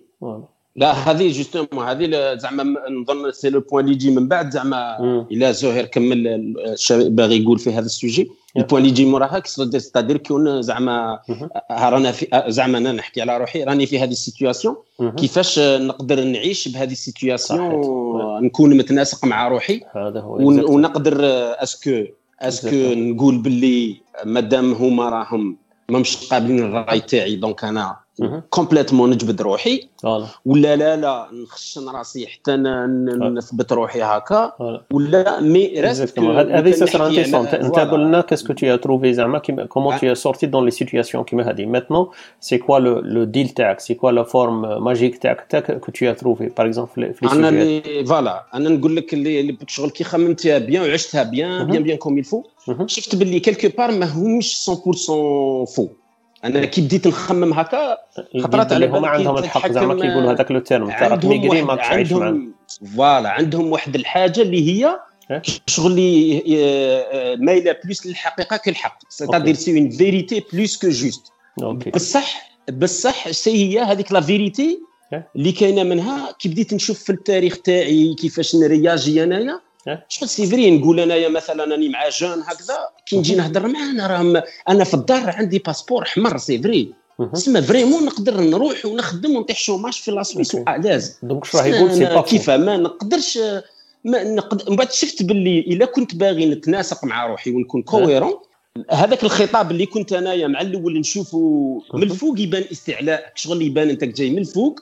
لا هذه جوستومون هذه زعما نظن سي لو بوين اللي يجي من بعد زعما الا زهير كمل باغي يقول في هذا السوجي البوين اللي يجي موراها كيستادير كون زعما رانا زعما انا نحكي على روحي راني في هذه السيتوياسيون كيفاش نقدر نعيش بهذه السيتوياسيون نكون متناسق مع روحي ونقدر اسكو اسكو نقول باللي مادام هما راهم ما مش قابلين الراي تاعي دونك انا كومبليتمون نجبد روحي ولا لا لا نخشن راسي حتى نثبت روحي هكا ولا مي ريست هذه سي سر انتريسون. انت قول لنا كاسكو تي تروفي زعما كومون تي سورتي دون لي سيتوياسيون كيما هذه ماتنون سي كوا لو ديل تاعك سي كوا لا فورم ماجيك تاعك تاك كو تي تروفي باغ اكزومبل في لي انا اللي فوالا انا نقول لك اللي شغل كي خممتها بيان وعشتها بيان بيان بيان كوم يلفو شفت باللي كلكو بار ما همش مية بالمية فو. انا كي بديت نخمم هكا خطرات على بالي عندهم الحق زعما كيقولوا هذاك لو تيرم تاع راك ميغري ماكش عايش معاهم. فوالا عندهم واحد الحاجه اللي هي شغل اللي مايله بلوس للحقيقه كالحق سيتادير سي اون فيريتي بلوس كو جوست. بصح بصح سي هي هذيك لا فيريتي اللي كاينه منها. كي بديت نشوف في التاريخ تاعي كيفاش نرياجي انايا شغل سي فري نقول انايا مثلا راني مع جون هكذا كي نجي نهضر معاه انا راه انا في الدار عندي باسبور احمر سي فري تسمى فريمون نقدر نروح ونخدم ونطيح شوماج في لاسويس وعلاز. دونك شنو راح يقول سي با كيف ما نقدرش ما نقدر. من بعد شفت باللي الا كنت باغي نتناسق مع روحي ونكون كويرون هذاك الخطاب اللي كنت انايا مع الاول نشوفه من الفوق يبان استعلاء شغل يبان انت جاي من الفوق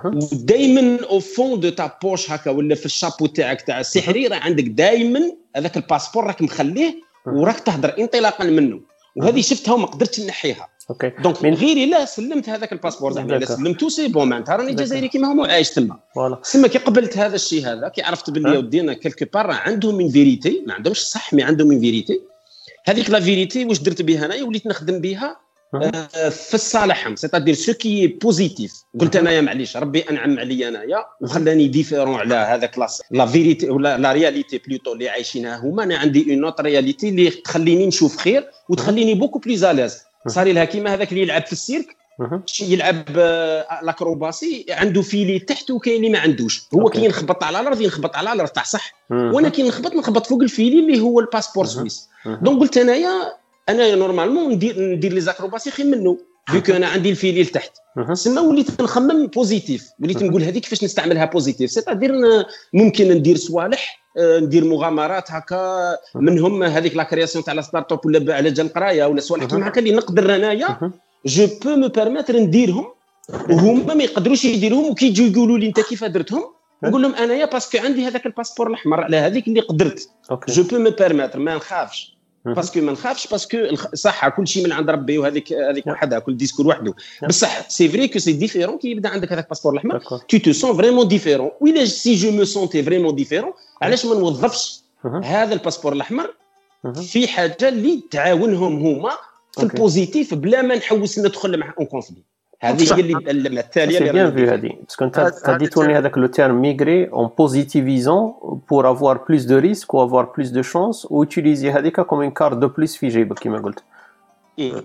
ودائما او فون دو تا بوش هكا ولا في الشابو تاعك تاع السحري راه عندك دائما هذاك الباسبور راك مخليه وراك تهضر انطلاقا منه. وهذه شفتها وما قدرتش نحيها. اوكي دونك من غيري لا سلمت هذاك الباسبور زعما الا سلمتو سي بون معناتها راني جزائري كيما هما عايش تما. تما كي قبلت هذا الشيء هذا كي عرفت باللي ودينا كلكو بار عندهم من فيريتي ما عندهمش صح مي عندهم من فيريتي. هذيك لا فيريتي واش درت بها انايا وليت نخدم بها آه في الصالحهم سيتادير سو كي بوزيتيف. قلت انايا معليش ربي انعم عليا انايا وخلاني ديفيرون على هذاك لاس لا فيريتي ولا لا رياليتي بلوتو اللي عايشينها هما. انا عندي اون اوت رياليتي اللي تخليني نشوف خير وتخليني بوكو بليز اليز. صار لها كيما هذاك اللي يلعب في السيرك يلعب لاكروباسي عنده فيلي تحت وكاين اللي ما عندوش. هو كي ينخبط على الارض ينخبط على الارض تاع صح وانا كي نخبط نخبط فوق الفيلي اللي هو الباسبور سويس. دونك قلت انايا انا نورمالمون ندير ندير لي زاكروباسي خير منه فيك انا عندي الفيلي لتحت. سما وليت نخمم بوزيتيف وليت نقول هذيك كيفاش نستعملها بوزيتيف سيتادير ممكن ندير صوالح ندير مغامرات هكا منهم هذيك لا كرياسيون تاع لا ستارت اب ولا على جال القرايه ولا صوالح كيما هكا اللي نقدر انايا جو بو مو بيرميتر نديرهم وهما ما يقدروش يديروهم. وكي يجوا يقولوا لي انت كيف درتهم نقول لهم انايا باسكو عندي هذاك الباسبور الاحمر على هذيك اللي قدرت جو بو مو بيرميتر ما نخافش باسكو ما نخافش باسكو صح كل شيء من عند ربي وهذيك هذيك وحدها كل ديسكور وحده. بصح سي فري كو سي ديفيرون كي يبدا عندك هذاك الباسبور الاحمر tu te sens vraiment différent. ولا سي جو مو سونتي فريمون ديفيرون علاش ما نوظفش هذا الباسبور الاحمر في حاجه اللي تعاونهم هما في البوزيتيف بلا ما نحوس ندخل مع اون كونفلي. هذه هي اللي التاليه اللي بيان في هذه باسكو انت تديتوني هذاك لو تيرم ميغري اون بوزيتيفيزون بور افوار بلوس دو ريسك و افوار بلوس دو شانس و utiliser هذيك كوم اون كارت دو بلوس في جيبك كما قلت. اي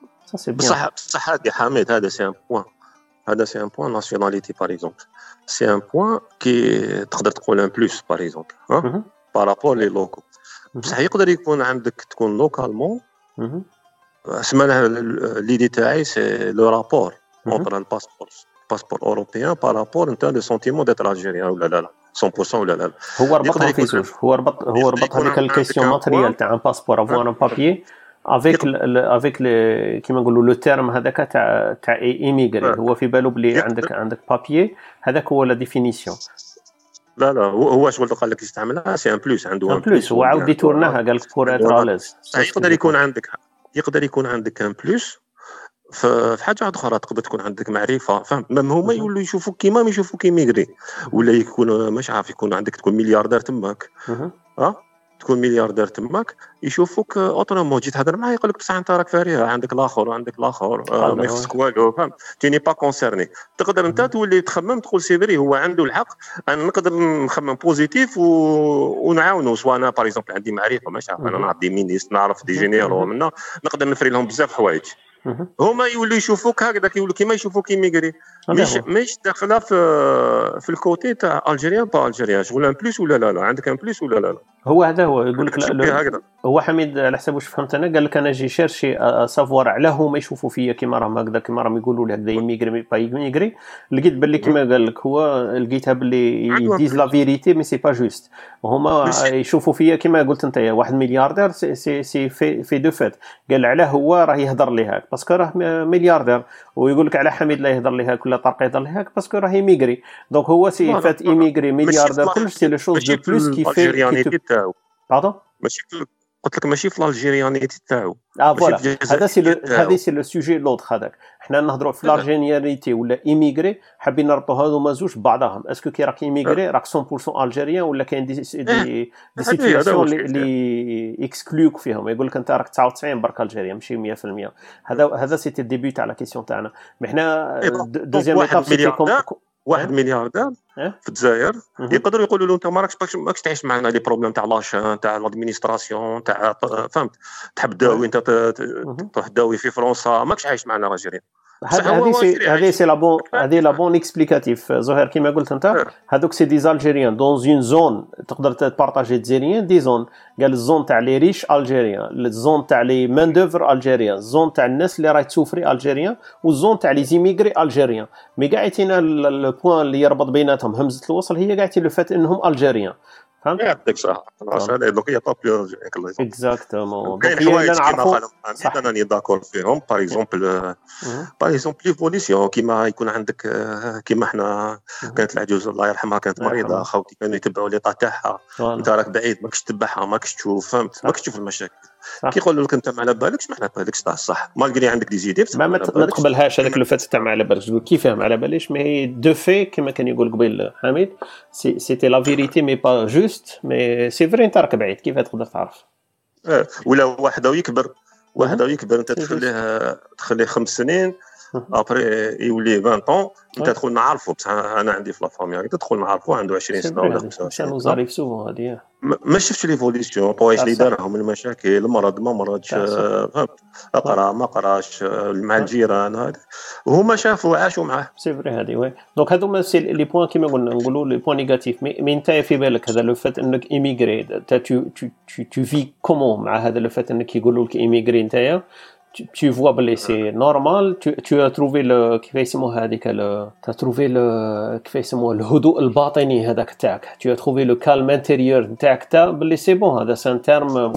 سا بصح بصح هذا حميد هذا سي ان بوين هذا سي ان بوين ناسيوناليتي باغ اكزومبل سي ان بوين كي تقدر تقول ان بلوس باغ اكزومبل ها بارابور لي لوكو. بصح يقدر يكون عندك تكون لوكالمون اسمها ليدي تاعي سي لو رابور entre un passeport passeport européen par rapport انت لو سونتيمون ديتر الجيريان ولا لا لا مية بالمية ولا لا. هو ربطها في زوج. هو ربط هو ربط هذيك الكيسيون ماتريال تاع ان باسبور افوار ان بابيي افيك افيك كيما نقولوا لو تيرم هذاك تاع تاع ايميغري. هو في بالو بلي عندك عندك بابيي هذاك هو لا ديفينيسيون. لا لا هو شغل قال لك يستعملها سي ان بلوس عنده ان بلوس. هو عاود يتورناها قال لك بور اتر اليز. يقدر يكون عندك يقدر يكون عندك ان بلوس في حاجه اخرى تقدر تكون عندك معرفه فهم ما هما يولوا يشوفوك كيما ما يشوفوك كيميغري ولا يكون مش عارف يكون عندك تكون ملياردير تماك ها تكون ملياردير تماك يشوفوك اوتوماتيك جيت تهضر معاه يقول لك بصح انت راك فارغ عندك الاخر وعندك الاخر آه ما يخصك والو فهم تي ني با كونسيرني. تقدر انت تولي تخمم تقول سيفري هو عنده الحق انا نقدر نخمم بوزيتيف و... ونعاونو سواء انا باغ اكزومبل عندي معرفه مش عارف انا نعرف دي مينيست نعرف دي جينيرو منا نقدر نفري لهم بزاف حوايج. هما يولوا يشوفوك هكذا يولوا كيما يشوفوك كيميغري مش مش داخله في في الكوتي تاع الجيريان با الجيريان شغل ان بلوس ولا لا لا عندك ان بلوس ولا لا لا هو هذا هو يقول لك لا هو حميد على حسب واش فهمت انا قال لك انا جي شيرشي سافوار علاه هما يشوفوا فيا كيما راهم هكذا كيما راهم يقولوا لي هكذا يميغري مي با يميغري لقيت باللي كيما قال لك هو لقيتها باللي يديز لا فيريتي مي سي با جوست هما يشوفوا فيا كيما قلت انت واحد ملياردير سي سي, سي في في دو فات قال علاه هو راه يهضر لي هاك باسكو راه ملياردير ويقول لك على حميد لا يهضر لي هاك ولا طارق يهضر لي هاك باسكو راه يميغري دونك هو سي فات يميغري ملياردير كلش سي لو شوز دو بلوس كي في باردون ماشي قلت لك ماشي في الالجيريانيتي تاعو اه فوالا هذا سي هذا سي لو سوجي لوط هذاك حنا نهضروا في الالجيريانيتي ولا ايميغري حابين نربطوا هذوما زوج ببعضهم اسكو كي راك ايميغري راك مية بالمية الجيريان ولا كاين دي دي, دي سيتوياسيون اللي اكسكلوك فيهم يقول لك انت راك تسعة وتسعين برك الجيريا ماشي مية بالمية هذا هذا سيتي الديبي تاع لا كيسيون تاعنا مي حنا دوزيام ايتاب سيتي كوم واحد ملياردير في الجزائر يقدروا يقولوا له انت ما راكش ماكش تعيش معنا لي بروبليم تاع لاشان تاع لادمينستراسيون تاع فهمت تحب داوي انت تروح داوي في فرنسا ماكش عايش معنا الجزائريين هذه سي هذه سي لا بون هذه لا بون اكسبليكاتيف زهير كيما قلت انت هذوك سي دي الجيريان دون اون زون تقدر تبارطاجي ديزيريان دي زون قال الزون تاع لي ريش الجيريان الزون تاع لي مان دوفر الجيريان الزون تاع الناس اللي راهي تسوفري الجيريان والزون تاع لي زيميغري الجيريان مي كاع يتينا البوان اللي يربط بيناتهم همزه الوصل هي كاع لو فات انهم الجيريان فهمت يعطيك صح هذا دونك هي طابيو الله يسلمك اكزاكتومون كاين حوايج كيما قال انا راني داكور فيهم باغ اكزومبل باغ اكزومبل ليفوليسيون كيما يكون عندك كيما حنا كانت العجوز الله يرحمها كانت مريضه خاوتي كانوا يتبعوا لي تاعها انت راك بعيد ماكش تتبعها ماكش تشوف فهمت ماكش تشوف المشاكل كي يقولوا لك انت ما على بالكش ما على بالكش تاع الصح مالغري عندك دي زيدي ما ما تقبلهاش هذاك لو فات تاع ما على بالكش كيفاه ما على باليش مي دو في كيما كان يقول قبيل حميد سي سيتي لا فيريتي مي با جوست مي سي فري انت راك بعيد كيف تقدر تعرف اه ولا واحد ويكبر واحد ويكبر انت تخليه تخليه خمس سنين ابري يولي عشرين طون انت تدخل نعرفه بصح انا عندي في لا فامي تدخل نعرفه عنده عشرين سنه ولا خمسة وعشرين سنه زاريف سوفون هذه ما شفتش ليفوليسيون طوايش اللي دارهم المشاكل المرض ما مرضش فهمت اقرا ما قراش مع الجيران هذا وهما شافوا عاشوا معاه سي فري هذه وي دونك هذوما سي لي بوين كيما قلنا نقولوا لي بوين نيجاتيف مي انت في بالك هذا لو فات انك ايميغري تا تو تو تو في كومون مع هذا لو فات انك يقولوا لك ايميغري نتايا tu, tu vois que c'est normal tu, tu as trouvé le كيف يسموه هذيك le tu as trouvé le كيف يسموه الهدوء الباطني هذاك تاعك tu as trouvé le calme intérieur تاعك تا باللي سي بون هذا سان تيرم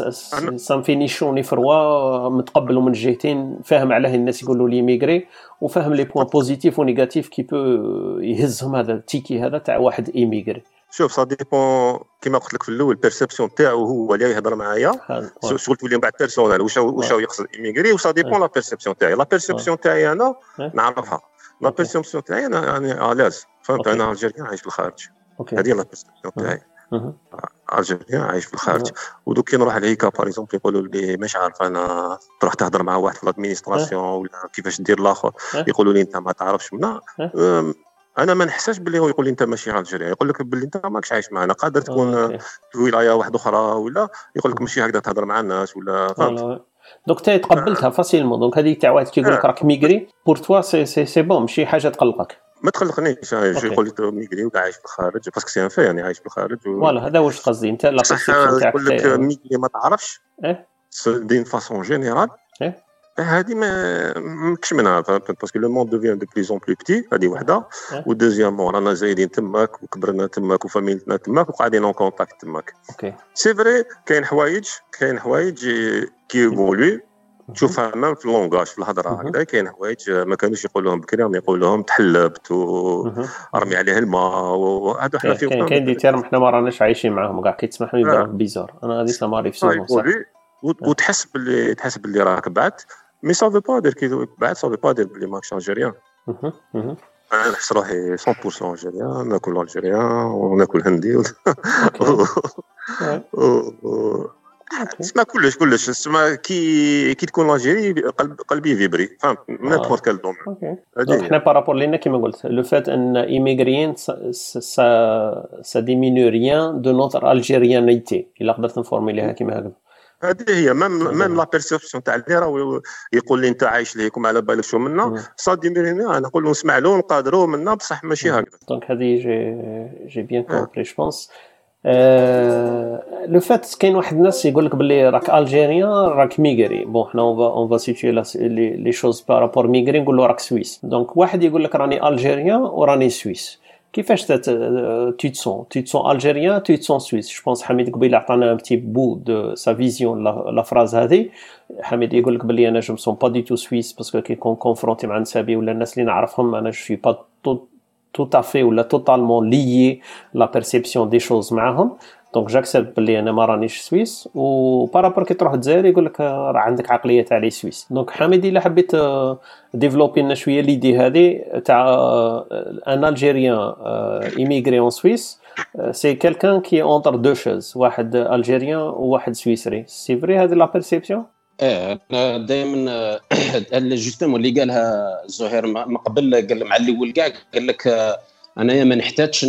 سان فينيشوني فروا متقبل من الجهتين فاهم علاه الناس يقولوا لي ميغري وفاهم لي بوين بوزيتيف ونيجاتيف كي بو يهزهم هذا التيكي هذا تاع واحد ايميغري شوف سا ديبون كيما قلت لك في الاول بيرسيبسيون تاعو هو اللي يهضر معايا شغل تولي من بعد بيرسونال واش واش يقصد ايميغري وسا ديبون لا بيرسيبسيون تاعي لا بيرسيبسيون تاعي انا نعرفها لا بيرسيبسيون تاعي انا يعني الاز فهمت انا الجيريان عايش في الخارج هذه لا بيرسيبسيون تاعي الجيريان عايش في الخارج ودوك كي نروح لهيكا باغ اكزومبل يقولوا لي مش عارف انا تروح تهضر مع واحد في الادمينستراسيون ولا كيفاش دير الاخر يقولوا لي انت ما تعرفش منا انا ما نحساش باللي هو يقول لي انت ماشي الجيري يقول لك باللي انت ماكش عايش معنا قادر تكون في ولايه واحده اخرى ولا يقول لك ماشي هكذا تهضر مع الناس ولا فهمت دونك تي تقبلتها فاسيلمون دونك هذيك تاع واحد كيقول لك راك ميغري بور توا سي سي سي بون ماشي حاجه تقلقك ما تقلقنيش جو يقول لي ميغري ولا عايش في الخارج باسكو سي ان في يعني عايش في الخارج فوالا هذا واش قصدي انت لا بيرسيبسيون تاعك يقول لك ميغري ما تعرفش ايه دين فاسون جينيرال ايه هذه ما ماكش منها باسكو لو موند دوفيان دو بليز اون بلو بتي هذه وحده ودوزيامون رانا زايدين تماك وكبرنا تماك وفاميلتنا تماك وقاعدين اون كونتاكت تماك اوكي سي فري كاين حوايج كاين حوايج كي يقولوا تشوفها مام في اللونغاج في الهضره هكذا كاين حوايج ما كانوش يقولوهم بكري راهم يقولوهم تحلبت ورمي عليه الماء وهذا حنا فيه كاين دي تيرم حنا ما راناش عايشين معاهم كاع كيتسمحوا يبانوا بيزار انا هذه ساماري في سوق صح وتحس باللي تحس باللي راك بعت مي سا فو با دير كي بعد سا فو با دير بلي ماكش الجيريان انا نحس روحي مية بالمية الجيريان ناكل الجيريان وناكل هندي تسمع كلش كلش تسمع كي كي تكون الجيري قلب قلبي فيبري فهمت من نيمبورت كال دومين دونك حنا بارابور لينا كيما قلت لو فات ان ايميغريين سا سا ديمينو ريان دو نوتر الجيريانيتي الا قدرت نفورميليها كيما هكذا هذه هي ميم ميم لا بيرسيبسيون تاع اللي راه يقول لي انت عايش ليكم على بالك شو منا صادي ميريني انا نقول له نسمع له نقادروا منا بصح ماشي هكذا دونك هذه جي جي بيان كومبري جو بونس لو فات كاين واحد الناس يقول لك باللي راك الجيريان راك ميغري. بون حنا اون فا سيتوي لي شوز بارابور ميغري نقول له راك سويس. دونك واحد يقول لك راني الجيريان وراني سويس. كيفاش tu te sens tu te sens algérien tu te sens suisse. je pense حميد قبيل عطانا un petit bout de sa vision la phrase هذه. حميد يقول لك بلي انا je me sens pas du tout suisse parce que كي كون كونفرونتي مع نسابي ولا الناس اللي نعرفهم انا je suis pas tout à fait ولا totalement lié la perception des choses معاهم. دونك جاكسبت بلي انا ما رانيش سويس. و بارابور كي تروح الجزائر يقول لك راه عندك عقليه تاع لي سويس. دونك حميد الا حبيت ديفلوبي لنا شويه ليدي هذه تاع ان الجيريان ايميغري ان سويس سي كيلكان كي اونتر دو شوز واحد الجيريان وواحد سويسري. سي فري هذه لا بيرسيبسيون؟ اه انا دائما جوستومون اللي قالها زهير ما قبل قال مع الاول كاع قال لك انايا ما نحتاجش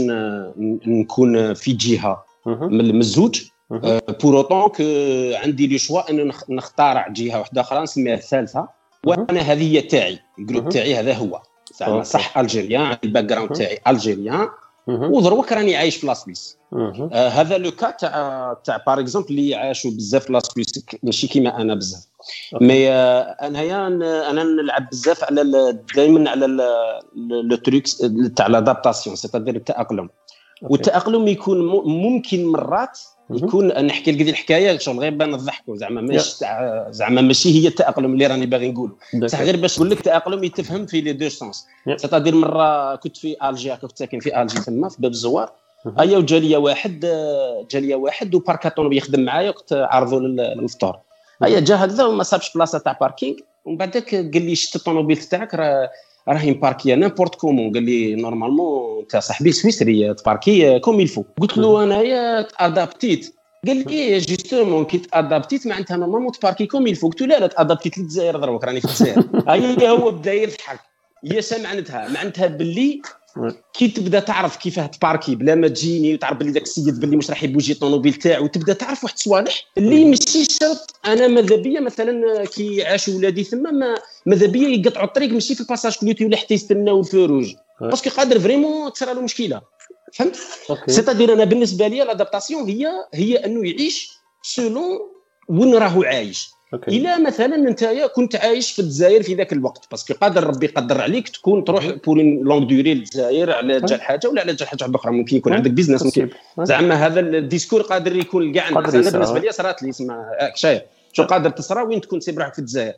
نكون في جهه من الزوج بور اوتون كو عندي لي شوا انه نختار جهه واحده اخرى نسميها الثالثه وانا هذه هي تاعي الجروب تاعي هذا هو زعما صح الجيريان الباك جراوند تاعي الجيريان ودروك راني عايش في لاسويس. آه هذا لو كا تاع تاع بار اكزومبل اللي عاشوا بزاف في لاسويس ماشي كيما انا بزاف مي آه انايا انا نلعب بزاف على دائما على لو تريكس تاع لادابتاسيون سيتادير التاقلم. والتاقلم يكون ممكن مرات يكون نحكي لك دي الحكايه شغل غير بان نضحكوا زعما ماشي زعما ماشي هي التاقلم اللي راني باغي نقول بصح غير باش نقول لك التاقلم يتفهم في لي دو سونس. سيتادير مره كنت في الجي كنت ساكن في الجي تما في باب الزوار ايا وجاليه واحد جاليه واحد وباركاتون يخدم معايا وقت عرضوا للفطور ايا جا هكذا وما صابش بلاصه تاع باركينغ ومن بعدك قال لي شت الطوموبيل تاعك راه راهي مباركيه نيمبورت كومون. قال لي نورمالمون انت صاحبي سويسري تباركي كوم يلفو. قلت له انايا ادابتيت. قال لي جوستومون كي ادابتيت معناتها نورمالمون تباركي كوم يلفو. قلت له لا لا ادابتيت للجزائر دروك راني في الجزائر. هي هو بدا يضحك. هي معناتها معناتها باللي كي تبدا تعرف كيفاه تباركي بلا ما تجيني وتعرف باللي داك السيد باللي مش راح يبوجي الطوموبيل تاعو وتبدا تعرف واحد الصوالح اللي ماشي شرط. انا ماذا بيا مثلا كي عاشوا ولادي ثم ما ماذا بيا يقطعوا الطريق ماشي في الباساج كلوتي ولا حتى يستناو الفروج باسكو قادر فريمون تصرى له مشكله. فهمت؟ سيتادير انا بالنسبه لي لادابتاسيون هي هي انه يعيش سولون وين راهو عايش. إلا مثلا نتايا كنت عايش في الجزائر في ذاك الوقت باسكو قادر ربي يقدر عليك تكون تروح بور لونغ دوري للجزائر على جال حاجه ولا على جال حاجه اخرى. ممكن يكون عندك بيزنس ممكن زعما هذا الديسكور قادر يكون كاع انا بالنسبه لي صرات لي اسمع شايف شو قادر تصرى وين تكون سيب روحك في الجزائر.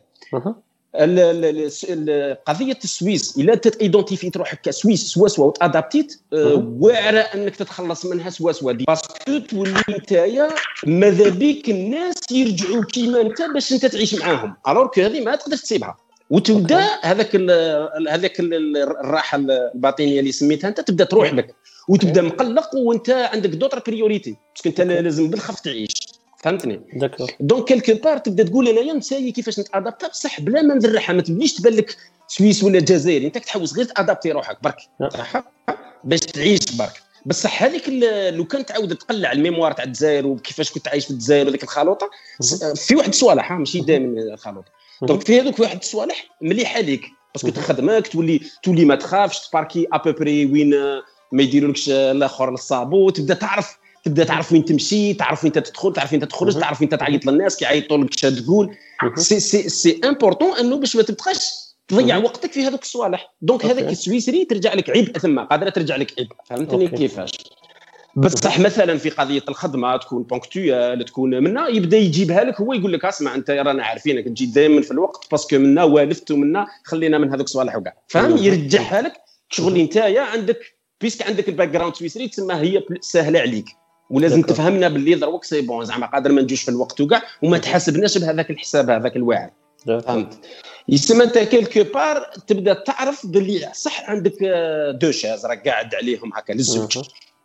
قضيه السويس الا تايدونتيفي روحك كسويس سوا سوا وتادابتيت واعره انك تتخلص منها سوا سوا باسكو تولي نتايا ماذا بيك الناس يرجعوا كيما انت باش انت تعيش معاهم الوغ كو هذه ما تقدرش تسيبها وتبدا هذاك هذاك الراحه الباطنيه اللي سميتها انت تبدا تروح لك وتبدا مقلق وانت عندك دوطر بريوريتي باسكو انت لازم بالخف تعيش. فهمتني؟ دونك كيلكو بار تبدا تقول انايا نساي كيفاش نتادابتا بصح بلا ما نذرحها ما تبليش تبان لك سويس ولا جزائري انت تحوس غير تادابتي روحك برك باش تعيش برك. بصح هذيك لو كان تعاود تقلع الميموار تاع الجزائر وكيفاش كنت عايش في الجزائر وذيك الخلوطه في واحد الصوالح ماشي دائما الخلوطه. دونك في هذوك واحد الصوالح مليحه ليك باسكو تخدمك تولي تولي ما تخافش تباركي ابوبري وين ما يديرولكش الاخر للصابو تبدا تعرف تبدا تعرف وين تمشي تعرف وين تدخل تعرف وين تخرج تعرف وين تعيط للناس كي يعيطوا لك اش تقول. سي سي سي امبورطون انه باش ما تبقاش تضيع وقتك في هذوك الصوالح. دونك هذاك السويسري ترجع لك عبء ثم قادره ترجع لك عبء. فهمتني كيفاش؟ بصح مثلا في قضيه الخدمه تكون بونكتويال تكون منا يبدا يجيبها لك هو يقول لك اسمع انت رانا عارفينك تجي دائما في الوقت باسكو منا والفت ومنا خلينا من هذوك الصوالح وكاع. فهم يرجعها لك شغل نتايا عندك بيسك عندك الباك جراوند سويسري تسمى هي سهله عليك ولازم دكو. تفهمنا باللي دروك سي بون زعما قادر ما نجوش في الوقت وكاع وما تحاسبناش بهذاك الحساب هذاك الواعر. فهمت؟ يسمى انت كيلكو بار تبدا تعرف باللي صح عندك دو شاز راك قاعد عليهم هكا للزوج.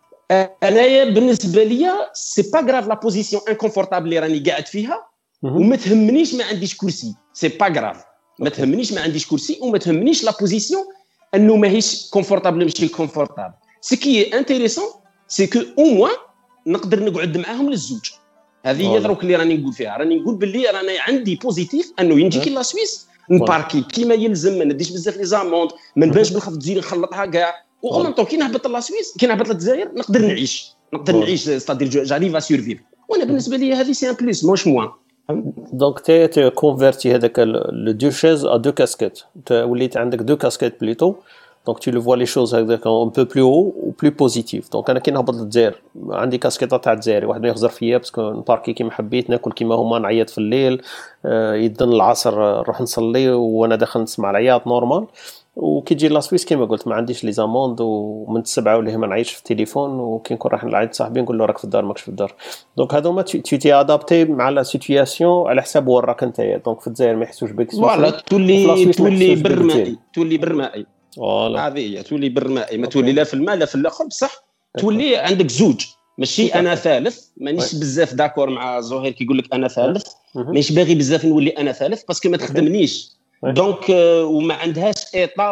انايا بالنسبه ليا سي با غراف لا بوزيسيون انكونفورتابل اللي راني قاعد فيها وما تهمنيش ما عنديش كرسي. سي با غراف ما تهمنيش ما عنديش كرسي وما تهمنيش لا بوزيسيون انه ماهيش كونفورتابل ماشي كونفورتابل. سي كي انتريسون سي كو او موان نقدر نقعد معاهم للزوج. هذه هي دروك اللي راني نقول فيها راني نقول باللي راني عندي بوزيتيف انه ينجي كي لا سويس نباركي كيما يلزم ما نديش بزاف لي زاموند ما نبانش بالخف تزيد نخلطها كاع وغلطو كي نهبط لا سويس كي نهبط للجزائر نقدر نعيش نقدر نعيش ستادير جاريف ا سيرفيف. وانا بالنسبه لي هذه سي ان بليس موش موان. دونك تي كونفيرتي هذاك لو دو شيز ا دو كاسكيت، وليت عندك دو كاسكيت بليتو. دونك tu le vois les choses هكذاك un peu plus haut ou plus positif. دونك انا كي نهبط للجزائر عندي كاسكيطه تاع الجزائري، واحد ما يخزر فيا باسكو نباركي كيما حبيت، ناكل كيما هما، نعيط في الليل، يدن العصر نروح نصلي وانا داخل نسمع العياط نورمال. وكي تجي لا سويس كيما قلت ما عنديش لي زاموند، ومن السبعه ولا ما نعيش في التليفون، وكي نكون رايح نعيط صاحبي نقول له راك في الدار ماكش في الدار. دونك هذوما تي تي ادابتي مع لا سيتوياسيون على حساب وين راك نتايا. دونك في الجزائر ما يحسوش بك، فوالا تولي تولي برمائي، تولي برمائي فوالا هذه هي، تولي برمائي، ما تولي لا في الماء لا في الاخر، بصح تولي عندك زوج، ماشي انا ثالث. مانيش بزاف داكور مع زهير كي يقول لك انا ثالث، مانيش باغي بزاف نولي انا ثالث باسكو ما تخدمنيش. دونك وما عندهاش ايطا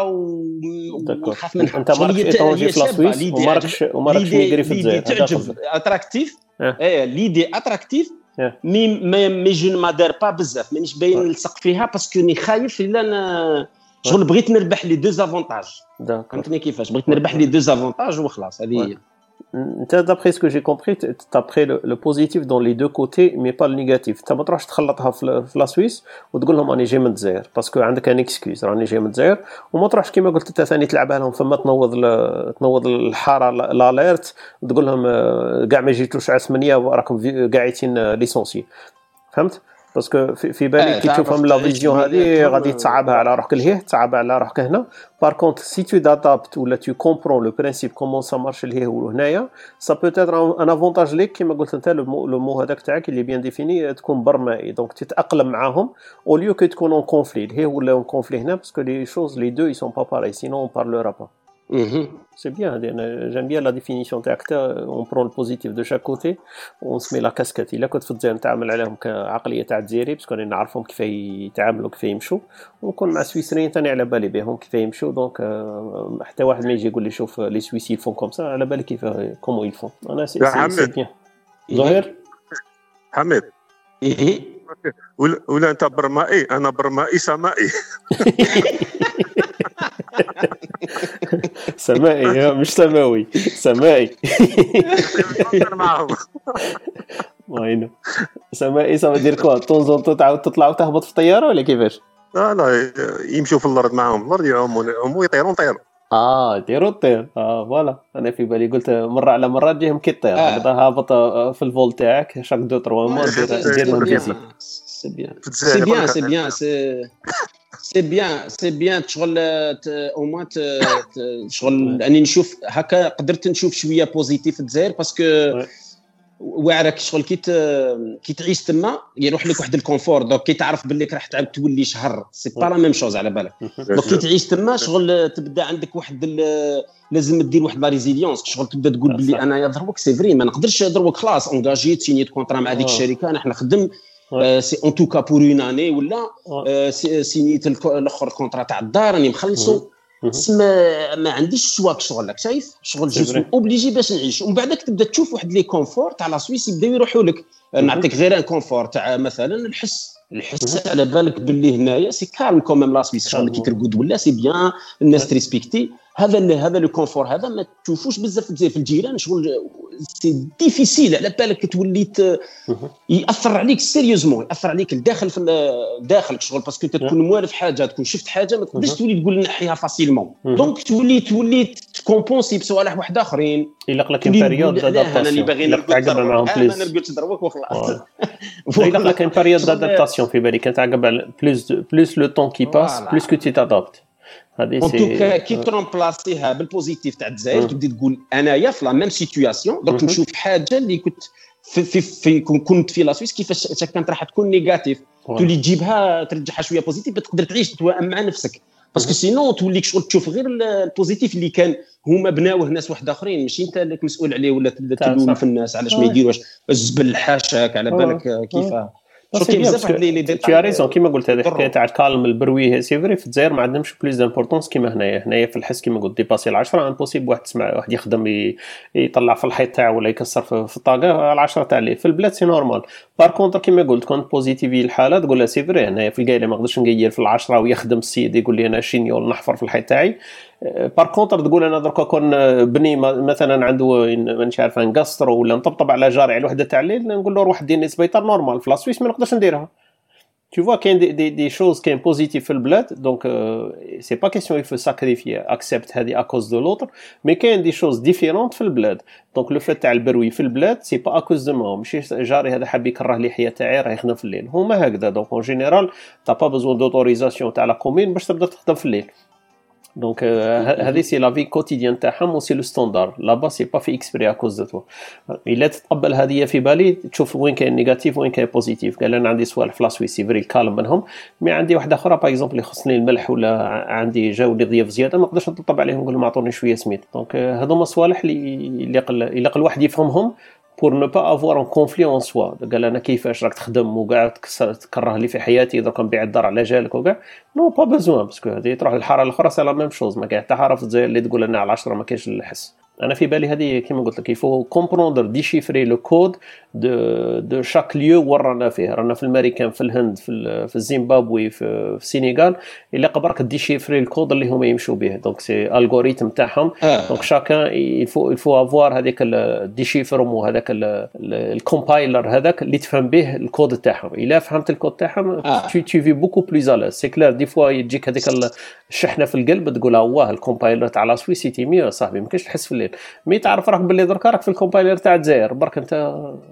ونخاف منها. انت ما راكش ايطونجي في لاسويس وما راكش وما راكش ميغري في الجزائر. تعجب اتراكتيف، ايه ليدي اتراكتيف، مي مي جو ما دار با بزاف، مانيش باين نلصق فيها باسكو ني خايف الا انا شغل بغيت نربح لي دو افونتاج. فهمتني كيفاش بغيت نربح لي دو افونتاج وخلاص. هذه هي. انت d'après ce que j'ai compris tu as pris le, le positif dans les deux côtés mais pas le négatif. انت ما تروحش تخلطها في, في لا سويس وتقول لهم راني جاي من الجزائر باسكو عندك ان اكسكيوز راني جاي من الجزائر، وما تروحش كيما قلت انت ثاني تلعبها لهم فما تنوض تنوض الحاره لاليرت وتقول لهم كاع ما جيتوش على ثمانية راكم قاعدين ليسونسي. فهمت؟ باسكو في, في بالي كي تشوفهم لا فيزيون هذه غادي تصعبها على روحك لهيه، تصعبها على روحك هنا. بار كونت سي تو دادابت ولا تو كومبرون لو برينسيپ كومون سا مارش لهيه وهنايا سا بوتيتر ان افونتاج ليك كيما قلت انت. لو مو هذاك تاعك اللي بيان ديفيني تكون برمائي، دونك تتاقلم معاهم او ليو كو تكون اون كونفلي لهيه ولا اون كونفلي هنا، باسكو لي شوز لي دو اي سون با باري سينون اون بارلورا با. C'est bien, j'aime bien la définition تاعك. on prend le positif de chaque côté on se met la casquette. الا كنت في الجزائر نتعامل عليهم كعقليه تاع الجزائري باسكو انا نعرفهم كيف يتعاملوا كيف يمشوا، ونكون مع السويسريين ثاني على بالي بهم كيف يمشوا. دونك حتى واحد ما يجي يقول لي شوف لي سويسي يفون كوم سا على بالي كيف كومو يفون. انا سي سي بيان. ظهير حميد ايه ولا ولا انت برمائي انا برمائي سمائي. سمائي مش سماوي، سمائي معهم. وينو سمائي سما دير كوا طونزون تعاود تطلع وتهبط في الطياره ولا كيفاش؟ لا لا يمشوا في الارض معهم، الارض يعوموا يعوموا يطيرون طيروا. اه ديروا الطير. اه فوالا انا في بالي قلت مره على مره تجيهم كي الطير هذا هابط في الفول تاعك شاك دو تروا مو دير لهم فيزيت. سي بيان سي بيان سي بيان سي بيان سي بيان شغل او موان شغل اني نشوف هكا قدرت نشوف شويه بوزيتيف في الجزائر باسكو واعرك شغل كي كي تعيش تما يروح لك واحد الكونفور. دونك كي تعرف باللي راح تعاود تولي شهر سي با لا ميم شوز على بالك. دونك كي تعيش تما شغل تبدا عندك واحد لازم دير واحد لا ريزيليونس شغل تبدا تقول باللي انا يا دروك سي فري ما نقدرش دروك خلاص انجاجيت سينيت كونطرا مع هذيك الشركه انا نخدم سي اون توكا بور اون اني ولا سينيت الاخر كونطرا تاع الدار راني مخلصو. ما ما عنديش الشواك شغل لك شايف شغل جو اوبليجي باش نعيش. ومن بعدك تبدا تشوف واحد لي كونفور تاع لا سويس يبداو يروحوا لك. نعطيك غير ان كونفور تاع مثلا الحس الحس على بالك باللي هنايا سي كالم كوميم لا سويس شغل كي ترقد ولا سي بيان الناس تريسبكتي هذا هذا لو كونفور هذا ما تشوفوش بزاف في الجيران شغل سي ديفيسيل على بالك توليت ياثر عليك سيريوزمون ياثر عليك الداخل في داخلك شغل باسكو تكون موالف حاجه تكون شفت حاجه ما تقدرش تولي تقول نحيها فاسيلمون. دونك تولي تولي تكومبونسي بصوالح واحد اخرين يلق لك بيريود دادابتاسيون انا باغي نرقد معاهم بليز انا نرقد دروك وخلاص. يلق لك ان بيريود دادابتاسيون في بالك تعقب بلوس بلوس لو طون كي باس بلوس كو تي تادابت. هذه سي كي ترومبلاسيها بالبوزيتيف تاع الجزائر تبدي تقول انايا في لا ميم سيتوياسيون دونك نشوف حاجه اللي كنت في في, في كنت في لا سويس كيفاش كانت راح تكون نيجاتيف تولي تجيبها ترجعها شويه بوزيتيف تقدر تعيش تتوائم مع نفسك باسكو سينون توليك شغل تشوف غير البوزيتيف اللي كان هما بناوه ناس واحد اخرين ماشي انت اللي مسؤول عليه ولا تبدا تلوم في الناس علاش ما يديروش الزبل حاشاك على بالك كيفاه. شوفي بزاف اللي اللي تي ريزون كيما قلت هذه الحكايه تاع الكالم البروي سي فري في الجزائر ما عندهمش بليز دامبورطونس كيما هنايا. هنايا في الحس كيما قلت ديباسي العشرة امبوسيبل واحد تسمع واحد يخدم يطلع في الحيط تاعو ولا يكسر في الطاقه العشرة تاع ليه. في البلاد سي نورمال. بار كونتر كيما قلت كونت بوزيتيفي الحاله تقول لها سي فري هنايا في القايله ما نقدرش نقير في العشرة ويخدم السيد يقول لي انا شينيول نحفر في الحيط تاعي بار كونتر تقول انا دركا كون بني مثلا عنده مانيش عارف نقصر ولا نطبطب على جاري على الوحده تاع الليل نقول له روح ديني سبيطار نورمال. في لاسويس ما نقدرش نديرها. Tu vois qu'il y a des, des, des choses qui sont positives dans le bled, donc euh, c'est pas question il faut sacrifier, accepte à cause de l'autre, mais qu'il y a des choses différentes dans le bled. Donc le fait تاع البروي في البلاد c'est pas à cause de moi, ماشي جاري هذا حاب يكره لي حياة تاعي راه يخدم في الليل. هما هكذا. donc en général t'as pas besoin d'autorisation تاع la commune باش تبدا تخدم في الليل. Donc هذه سي لا في كوتيديان تاعهم و سي لو ستاندار. لابا سي با في اكسبري ا كوز دو توا. الا تتقبل هذه في بالي تشوف وين كاين نيجاتيف وين كاين بوزيتيف. قال انا عندي صوالح في لاسويسي فري الكالم منهم، مي عندي واحده اخرى باغ اكزومبل يخصني الملح ولا عندي جاوني ضياف زياده ما نقدرش نطلب عليهم نقول لهم اعطوني شويه سميت. دونك هذوما صوالح اللي اللي قل واحد يفهمهم pour ne pas avoir un conflit en soi. قال انا كيفاش راك تخدم وقاعد تكره لي في حياتي درك نبيع الدار على جالك وكاع نو با بيزوان باسكو هذه تروح للحاره الاخرى سي لا ميم شوز. ما كاين حتى حاره في الجزائر اللي تقول انا على عشرة ما كاينش الحس. انا في بالي هذه كيما قلت لك يفو كومبروندر ديشيفري لو كود دو دو شاك ليو وين رانا فيه. رانا في الامريكان في الهند في في الزيمبابوي في السينيغال اللي قبرك ديشيفري الكود اللي هما يمشوا به. دونك سي الغوريثم تاعهم. دونك شاكان يفو يفو افوار هذيك الديشيفرم وهذاك الكومبايلر هذاك اللي تفهم به الكود تاعهم. الا فهمت الكود تاعهم tu tu vis beaucoup plus à l'aise. c'est clair دي فوا يجيك هذيك الشحنه في القلب تقول واه الكومبايلر تاع لا سويس سيتي ميو صاحبي ما كاينش تحس في الليل. مي تعرف راك باللي درك راك في الكومبايلر تاع الجزائر برك انت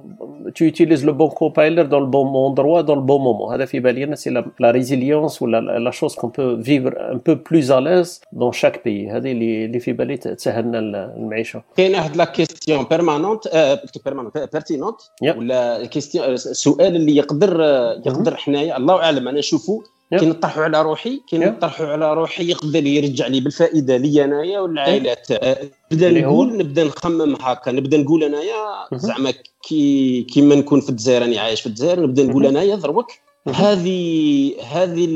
tu utilises le bon compiler dans le bon endroit dans le bon moment. هذا في بالي انا سي لا ريزيليونس ولا لا شوز كون بو فيفر ان بو بلوز à l'aise dans chaque pays. هذه اللي اللي في بالي تسهلنا المعيشه. كاين واحد لا كيستيون بيرمانونت بيرمانونت بيرتينونت ولا كيستيون سؤال اللي يقدر يقدر حنايا الله اعلم انا نشوفه كي نطرحوا على روحي كي نطرحوا على روحي يقدر يرجع لي بالفائده لي انايا والعائلات. نبدا نقول نبدا نخمم هكا نبدا نقول انايا زعما كي كيما نكون في الجزائر راني عايش في الجزائر نبدا نقول انايا دروك هذه هذه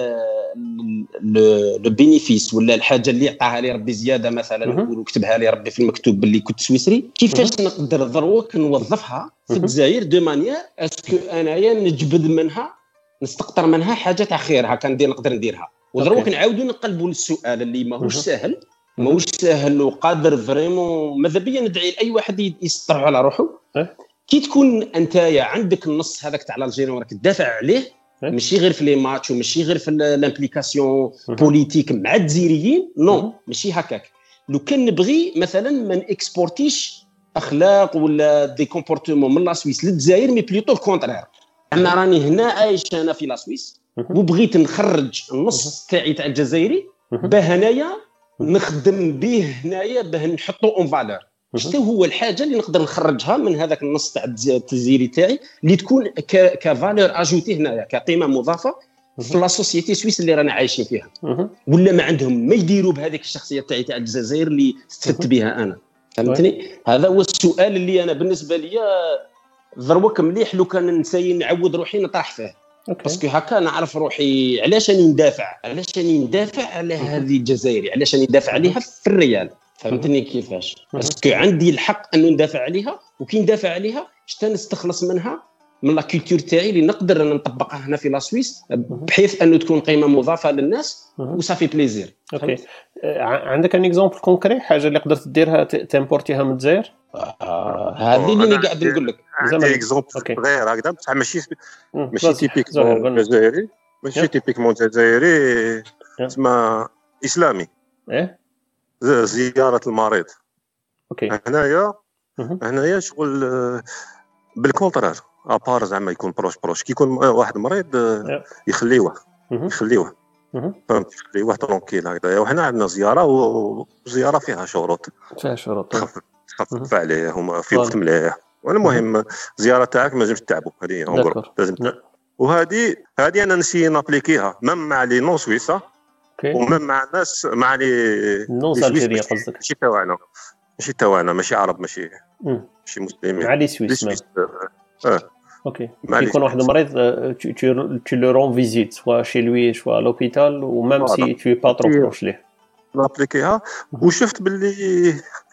لو بينيفيس ولا الحاجه اللي عطاها لي ربي زياده مثلا نقول كتبها لي ربي في المكتوب باللي كنت سويسري كيفاش نقدر دروك نوظفها في الجزائر دو مانيير اسكو انايا نجبد منها نستقطر منها حاجه تاع خير هكا ندير نقدر نديرها. ودروك نعاودوا نقلبوا للسؤال اللي ماهوش ساهل ماهوش ساهل وقادر فريمون ماذا بيا ندعي لاي واحد يسطر على روحه. كي تكون انتيا عندك النص هذاك تاع الجيري وراك تدافع عليه ماشي غير في لي ماتش وماشي غير في الامبليكاسيون بوليتيك مع الجزائريين نو ماشي هكاك. لو كان نبغي مثلا ما نكسبورتيش اخلاق ولا دي كومبورتمون من لا سويس للجزائر مي بليتو الكونترير. انا راني هنا عايش انا في لا سويس وبغيت نخرج النص تاعي تاع الجزائري باه هنايا نخدم به هنايا باه نحطو اون فالور. شنو هو الحاجه اللي نقدر نخرجها من هذاك النص تاع الجزائري تاعي اللي تكون كفالور اجوتي هنايا كقيمه مضافه في لا سوسيتي سويس اللي رانا عايشين فيها ولا ما عندهم ما يديروا بهذيك الشخصيه تاعي تاع الجزائر اللي استفدت بها انا. فهمتني؟ هذا هو السؤال اللي انا بالنسبه لي ضروك مليح لو كان نساي نعود روحي نطرح فيه باسكو هكا نعرف روحي علاش راني ندافع علاش راني ندافع على هذه الجزائري علاش راني ندافع عليها في الريال. فهمتني كيفاش؟ باسكو عندي الحق انه ندافع عليها وكي ندافع عليها شتا نستخلص منها من لا كولتور تاعي اللي نقدر نطبقها هنا في لا سويس بحيث انه تكون قيمه مضافه للناس وصافي بليزير. اوكي عندك ان اكزامبل كونكري حاجه اللي قدرت ديرها تيمبورتيها من الجزائر؟ هذه اللي قاعد نقول لك زعما اكزامبل صغير هكذا بصح ماشي ماشي تيبيكمون جزائري ماشي تيبيكمون جزائري اسمها اسلامي ايه زياره المريض. اوكي هنايا هنايا شغل بالكونترار ابار زعما يكون بروش بروش كي يكون واحد مريض يخليوه يخليوه فهمت يخليوه ترونكيل هكذا. وحنا عندنا زياره وزياره فيها شروط فيها شروط تخفف عليه هما في وقت مليح. والمهم الزياره تاعك ما لازمش تعبوا هذه لازم. وهذه هذه انا نسي نابليكيها مام مع لي نون سويسا ومام مع الناس مع لي نون سالجيريا قصدك ماشي تاعنا ماشي تاعنا ماشي عرب ماشي ماشي مسلمين مع لي سويس اه اوكي يكون واحد مريض tu le rends visite soit chez lui soit à l'hôpital ou même si tu es pas trop proche ليه نابليكيها. وشفت باللي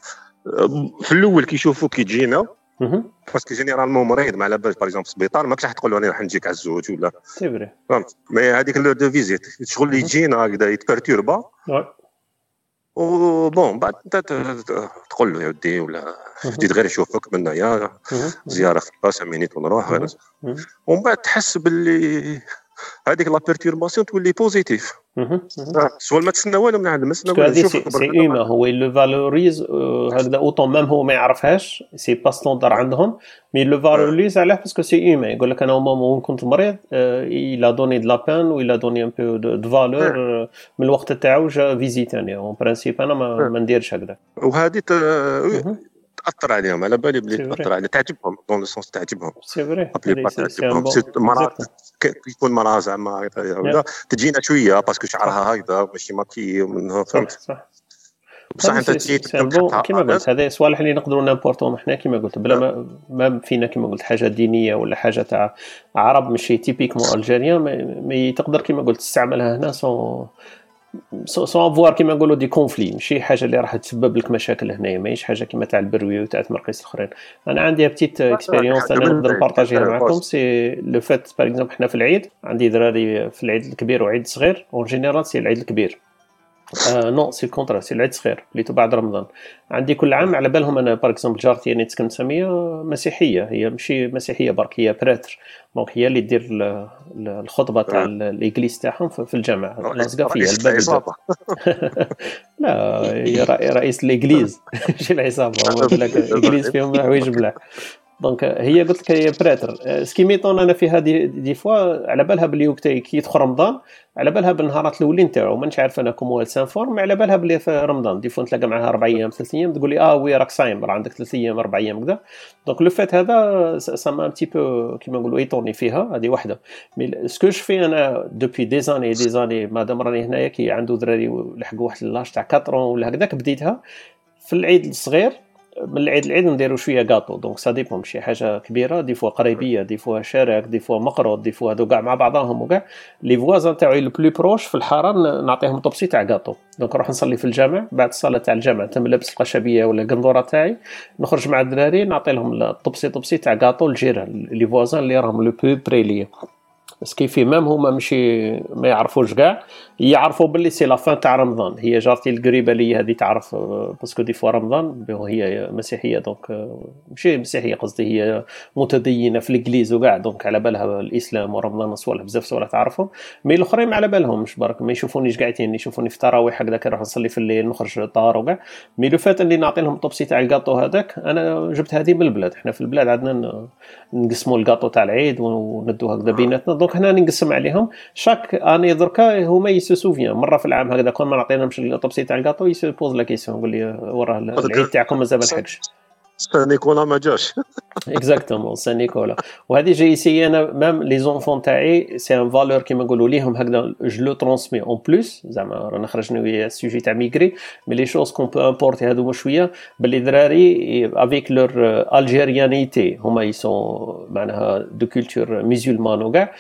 في الاول كيشوفوا كي تجينا باسكو جينيرالمون مريض ما على بالش باغ اكزومبل سبيطار ما كتح تقول له انا راح نجيك على الزوج ولا سي فري فهمت. مي هذيك لو دو فيزيت شغل اللي تجينا هكذا يتبرتوربا وبون بعد انت تقول له يا ودي ولا جيت غير يشوفك من هنايا زياره في خمسة مينيت ونروح غير ومن بعد تحس باللي هذيك لا بيرتورباسيون تولي بوزيتيف سواء ما تسنى والو من عند مسنا ولا نشوف سي ايما هو لو فالوريز هكذا اوطون ميم هو ما يعرفهاش سي با ستوندار عندهم مي لو فالوريز علاه باسكو سي ايما يقول لك انا مومون كنت مريض الا دوني دو لا بان ولا دوني ان بو دو فالور من الوقت تاعو جا فيزيتاني اون برانسيب انا ما, ما نديرش هكذا وهذه تاثر عليهم على بالي بلي تاثر على تعجبهم دون لو سونس تعجبهم سي فري تعجبهم مرات يكون مراه زعما ولا تجينا شويه باسكو شعرها هكذا ماشي ماكي ومنها فهمت صح بصح انت تجي كيما قلت هذا صوالح اللي نقدروا نامبورطون حنا كيما قلت بلا ما, ما فينا كيما قلت حاجه دينيه ولا حاجه تاع عرب ماشي تيبيكمون الجيريان مي تقدر كيما قلت تستعملها هنا سون سون افوار كيما نقولوا دي كونفلي ماشي حاجه اللي راح تسبب لك مشاكل هنايا ماهيش حاجه كيما تاع البروي وتاع تمرقيس الاخرين. انا عندي بتيت اكسبيريونس انا نقدر نبارطاجيها معكم سي لو فات باغ اكزومبل حنا في العيد عندي دراري في العيد الكبير وعيد الصغير اون جينيرال سي العيد الكبير آه نو سي الكونترا سي العيد الصغير اللي بعد رمضان. عندي كل عام على بالهم انا باغ اكزومبل جارتي انا تسكن ساميه مسيحيه هي ماشي مسيحيه برك هي براتر دونك هي اللي دير الخطبه تاع الايغليز تاعهم في الجامع لاصقه فيها الباب لا هي رئيس الايغليز ماشي العصابه هو يقول لك الايغليز فيهم حوايج بلا دونك هي قلت لك هي براتر سكيميطون انا في هذه دي فوا على بالها بلي وقت كي يدخل رمضان على بالها بالنهارات الاولين تاعو مانيش عارف انا كومو سانفورم على بالها بلي في رمضان دي فوا نتلاقى معها اربع ايام ثلاث ايام تقول لي اه وي راك صايم راه عندك ثلاث ايام اربع ايام كذا دونك لو فات هذا سما ان تي بو كيما نقولوا ايطوني فيها هذه وحده مي سكو جو في انا دوبي دي زاني دي زاني مادام راني هنايا كي عنده دراري لحقوا واحد لاج تاع أربعة ولا هكذاك بديتها في العيد الصغير من العيد العيد نديرو شويه غاطو دونك سا ديبون ماشي حاجه كبيره دي فوا قريبيه دي فوا شارك دي فوا مقروض دي فوا هادو كاع مع بعضهم وكاع لي فوازان تاعي لو بلو بروش في الحاره نعطيهم طبسي تاع غاطو دونك نروح نصلي في الجامع بعد الصلاه تاع الجامع تم لابس القشبيه ولا القندوره تاعي نخرج مع الدراري نعطي لهم الطبسي طبسي تاع غاطو الجيران لي فوازان اللي راهم لو بلو بري ليا بس كيفي مام هما ماشي ما يعرفوش كاع يعرفوا باللي سي لا فان تاع رمضان هي جارتي القريبه لي هذه تعرف باسكو دي فوا رمضان هي مسيحيه دونك ماشي مسيحيه قصدي هي متدينه في الانجليز وكاع دونك على بالها الاسلام ورمضان صوالح بزاف صوالح تعرفهم مي الاخرين ما على بالهمش برك ما يشوفونيش قاعدين يشوفوني في تراويح هكذا كنروح نصلي في الليل نخرج الدار وكاع مي لو فات اللي نعطي لهم الطبسي تاع الكاطو هذاك انا جبت هذه من البلاد حنا في البلاد عندنا نقسموا الكاطو تاع العيد وندو هكذا بيناتنا دونك هنا نقسم عليهم شاك اني دركا هما يسوفيان مره في العام هكذا كون ما نعطيناهمش الطبسي تاع الكاطو يسبوز لا كيسيون يقول لي وراه العيد تاعكم مازال ما لحقش سان نيكولا ما جاش اكزاكتومون سان نيكولا وهذه جاي سي انا ميم لي زونفون تاعي سي ان فالور كيما نقولوا ليهم هكذا جو لو ترونسمي اون بلوس زعما رانا خرجنا ويا السوجي تاع ميغري مي لي شوز كون بو امبورتي هذوما شويه باللي دراري افيك لور الجيريانيتي هما يسون معناها دو كولتور ميزولمان وكاع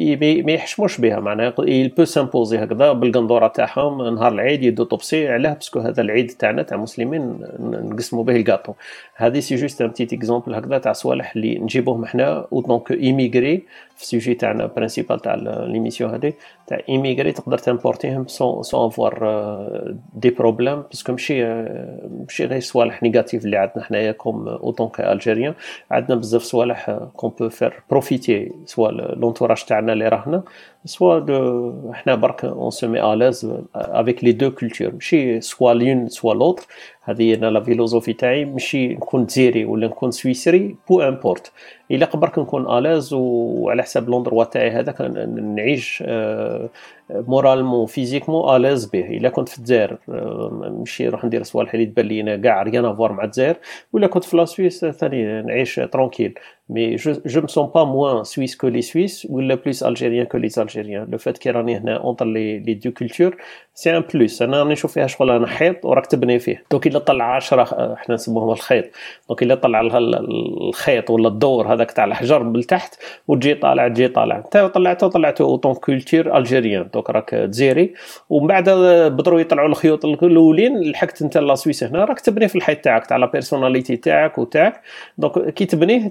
ما يحشموش بها معناها يل بو سامبوزي هكذا بالقندوره تاعهم نهار العيد يدو طبسي علاه باسكو هذا العيد تاعنا تاع المسلمين نقسموا به الكاطو هذه سي جوست ان بتيت اكزومبل هكذا تاع صوالح اللي نجيبوهم حنا او دونك ايميغري في السوجي تاعنا برينسيبال تاع ليميسيون هذه تاع ايميغري تقدر تامبورتيهم سون سون افوار دي بروبليم باسكو ماشي ماشي غير صوالح نيجاتيف اللي عندنا حنايا كوم او دونك الجيريان عندنا بزاف صوالح كون بو فير بروفيتي سوا لونتوراج تاعنا اللي راهنا سوا دو حنا برك اون سو مي الاز افيك لي دو كولتور ماشي سوا لون سوا لوطر هذه انا لا فيلوزوفي تاعي ماشي نكون جزيري ولا نكون سويسري بو امبورت الا قبرك نكون الاز وعلى حساب لوندروا تاعي هذاك نعيش مورالمون فيزيكمون الاز به الا كنت في الجزائر ماشي نروح ندير صوالح اللي تبان لينا كاع ريان افوار مع الجزائر ولا كنت في لا سويس ثاني نعيش ترونكيل مي جو me sens pas moins suisse que les Suisses ولا plus algérien que les Algériens le fait كي راني هنا اونطر لي لي دو كولتور سي ان بلوس انا راني نشوف فيها شغل انا حيط وراك تبني فيه دوك الا طلع عشرة احنا نسموهم الخيط دوك الا طلع الخيط ولا الدور هذاك تاع الحجر من تحت وتجي طالع تجي طالع انت طلعته طلعته اوطون كولتور الجيريان دوك راك تزيري ومن بعد بدروا يطلعوا الخيوط الاولين لحقت انت لا سويس هنا راك تبني في الحيط تاعك تاع لا بيرسوناليتي تاعك وتاعك دونك كي تبنيه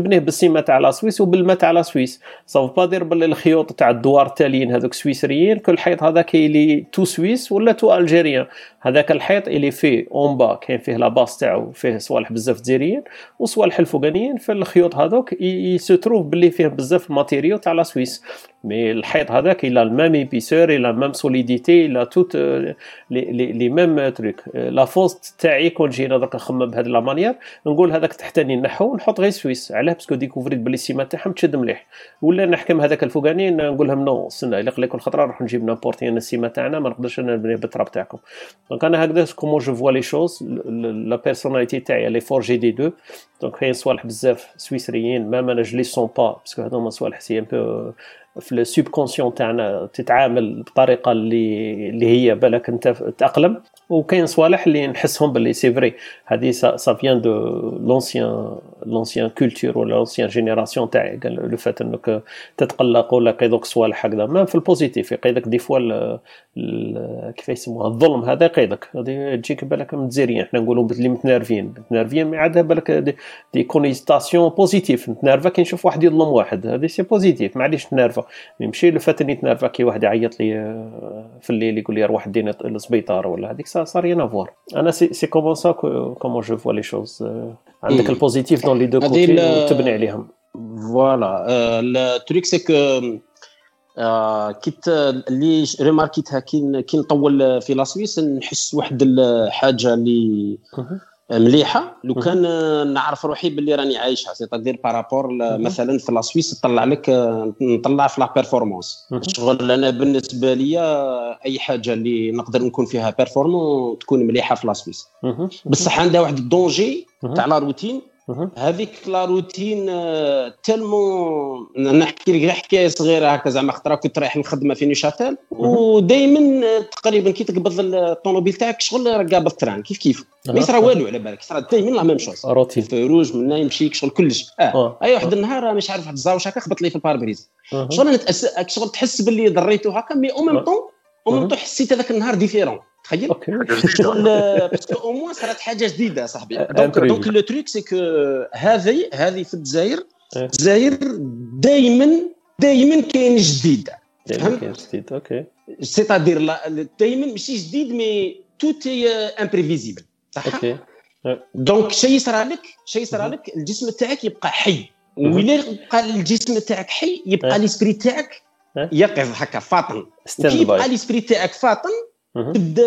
تبنيه بالسيمه تاع لا سويس وبالما تاع لا سويس. صافو با دير باللي الخيوط تاع الدوار التاليين هذوك سويسريين كل حيط هذاك اللي تو سويس ولا تو الجيريان. هذاك الحيط اللي فيه اون با كاين فيه لا باس تاعو فيه صوالح بزاف جزائريين وصوالح الفوقانيين. في الخيوط هذوك يستروف باللي فيه بزاف الماتيريو تاع لا سويس. مي الحيط هذاك الى الميم ايبيسور الى الميم سوليديتي الى توت لي لي ميم تروك. لا فوست تاعي كون جينا درك نخمم بهذه لا مانيير نقول هذاك تحتاني نحو ونحط غير سويس. علاه باسكو ديكوفريت بلي السيمه تاعهم تشد مليح. ولا نحكم هذاك الفوقاني نقول لهم نو استنى الا قليل كل خطره نروح نجيب نابورتي انا السيمه تاعنا ما نقدرش انا نبني بالتراب تاعكم. دونك انا هكذا كومون جو فوا لي شوز. لا بيرسوناليتي تاعي لي فورجي دي دو. دونك كاين صوالح بزاف سويسريين ما ما نجلي سون با باسكو هذوما صوالح سي ان بو في السوب كونسيون تاعنا تتعامل بطريقه اللي اللي هي بالك انت تاقلم. وكاين صوالح اللي نحسهم باللي سي فري هذه سا فيان دو لونسيان لونسيان كولتور ولا لونسيان جينيراسيون تاعي. لو فات انك تتقلق ولا كيدوك صوالح هكذا ما في البوزيتيف يقيدك دي فوا كيف يسموها الظلم هذا يقيدك. هذه تجيك بالك متزيرين احنا نقولوا اللي متنرفين متنرفين ما عاد بالك دي, دي كونيستاسيون بوزيتيف. نتنرفا كي نشوف واحد يظلم واحد هذه سي بوزيتيف ما عادش نتنرفا. يمشي لو فات اني نتنرفا كي واحد يعيط لي في الليل يقول لي روح دينا للسبيطار ولا هذيك سا صار ريان افوار. انا سي سي كومون سا كومون جو فوا لي شوز. عندك البوزيتيف دون لي دو كوتي وتبني عليهم. فوالا التريك سي كو كيت اللي ريماركيتها كي كي نطول في لا سويس نحس واحد الحاجه اللي مليحه لو كان نعرف روحي باللي راني عايشها. سي تادير بارابور مثلا في لا سويس طلع لك نطلع في لا بيرفورمانس. شغل انا بالنسبه لي اي حاجه اللي نقدر نكون فيها بيرفورمون تكون مليحه في لا سويس. بصح عندها واحد الدونجي تاع لا روتين. هذيك لا روتين تالمون نحكي لك حكايه صغيره هكا زعما خطره كنت رايح الخدمه في نيشاتال ودائما تقريبا كي تقبض الطوموبيل تاعك شغل رقابه التران كيف كيف ما يصرى والو على بالك صرا دائما لا ميم شوز روتين فروج من يمشيك شغل كلش اه اي واحد النهار مش عارف واحد الزاوش هكا خبط لي في الباربريز شغل نتأس... شغل تحس باللي ضريته هكا مي او ميم طون او ميم طون حسيت هذاك النهار ديفيرون تخيل شغل باسكو او موان صارت حاجه جديده صاحبي. دونك دونك لو تريك سي كو هذه هذه في الجزائر الجزائر دائما دائما كاين جديد دائما كاين جديد. اوكي سي تادير دائما ماشي جديد مي توت اي امبريفيزيبل صح. اوكي دونك شيء صرا لك شيء صرا لك الجسم تاعك يبقى حي وإلا بقى الجسم تاعك حي يبقى ليسبري تاعك يقظ هكا فاطن. كي يبقى ليسبري تاعك فاطن تبدا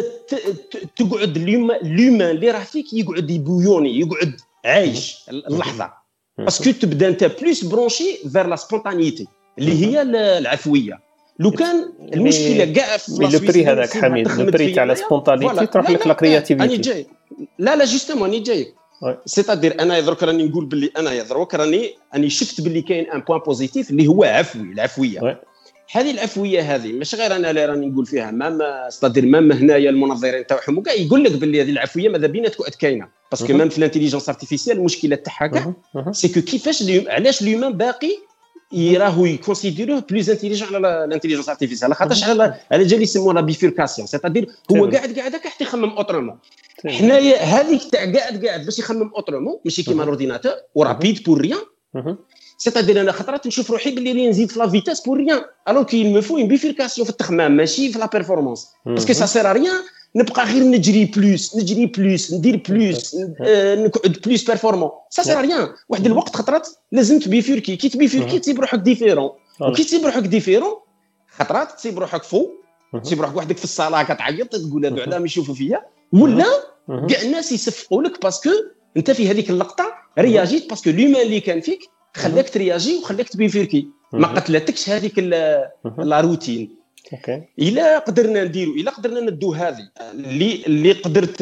تقعد اليوم اليومان اللي راه فيك يقعد يبويوني يقعد عايش اللحظه باسكو تبدا انت بلوس برونشي فير لا سبونتانيتي اللي هي العفويه. لو كان المشكله كاع في لو بري هذاك حميد لو بري تاع لا سبونتانيتي تروح لك لا كرياتيفيتي. انا جاي لا لا جوستومون اني جاي سيتادير انا درك راني نقول باللي انا درك راني اني شفت باللي كاين ان بوين بوزيتيف اللي هو عفوي العفويه. هذه العفويه هذه مش غير انا اللي راني نقول فيها ما استدير مام هنايا المنظرين تاعهم وكاع يقول لك باللي هذه العفويه ماذا بينا تكون كاينه باسكو مام في الانتيليجنس ارتيفيسيال المشكله تاعها كاع سي كو كيفاش علاش اليومان باقي يراهو يكونسيديروه بلوز انتيليجون على الانتيليجنس ارتيفيسيال خاطرش على على جالي يسموها لا بيفيركاسيون سيتادير هو قاعد قاعد هكا حتى يخمم اوترومون. حنايا هذيك تاع قاعد قاعد باش يخمم اوترومون ماشي كيما الاورديناتور ورابيد بور ريان. سيتادير انا خطرات نشوف روحي باللي راني نزيد في لا فيتاس بور ريان الوغ كي مفو اون بيفيركاسيون في التخمام ماشي في لا بيرفورمانس باسكو سا سير ريان نبقى غير نجري بلوس نجري بلوس ندير بلوس نقعد بلوس بيرفورمون سا سير ريان. واحد الوقت خطرات لازم تبيفيركي كي تبيفيركي تسيب روحك ديفيرون وكي تسيب روحك ديفيرون خطرات تسيب روحك فوق تسيب روحك وحدك في الصاله كتعيط تقول هذو علاه ما يشوفوا فيا ولا كاع الناس يصفقوا لك باسكو انت في هذيك اللقطه رياجيت باسكو لومان اللي كان فيك خلاك ترياجي وخلاك تبيفيركي ما قتلتكش هذيك لا روتين. اوكي الا قدرنا نديروا الا قدرنا ندو هذه اللي اللي قدرت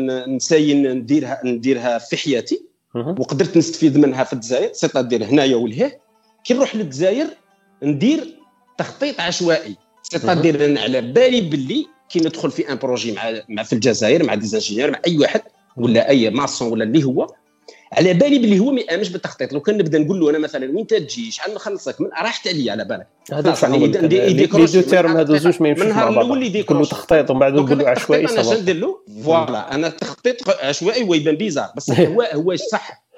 نساين نديرها نديرها في حياتي وقدرت نستفيد منها في الجزائر سيتادير هنايا ولهيه كي نروح للجزائر ندير تخطيط عشوائي سيتادير انا على بالي باللي كي ندخل في ان بروجي مع مع في الجزائر مع ديزانجينير مع اي واحد ولا اي ماسون ولا اللي هو على بالي باللي هو ما يامنش بالتخطيط. لو كان نبدا نقول له انا مثلا وين تجي شحال نخلصك من راحت عليا على بالك هذا لي دو تيرم هذو زوج ما يمشوش مع بعض كله تخطيط ومن بعد نقول له عشوائي انا شندير له فوالا انا تخطيط عشوائي ويبان بيزار بس هو هو صح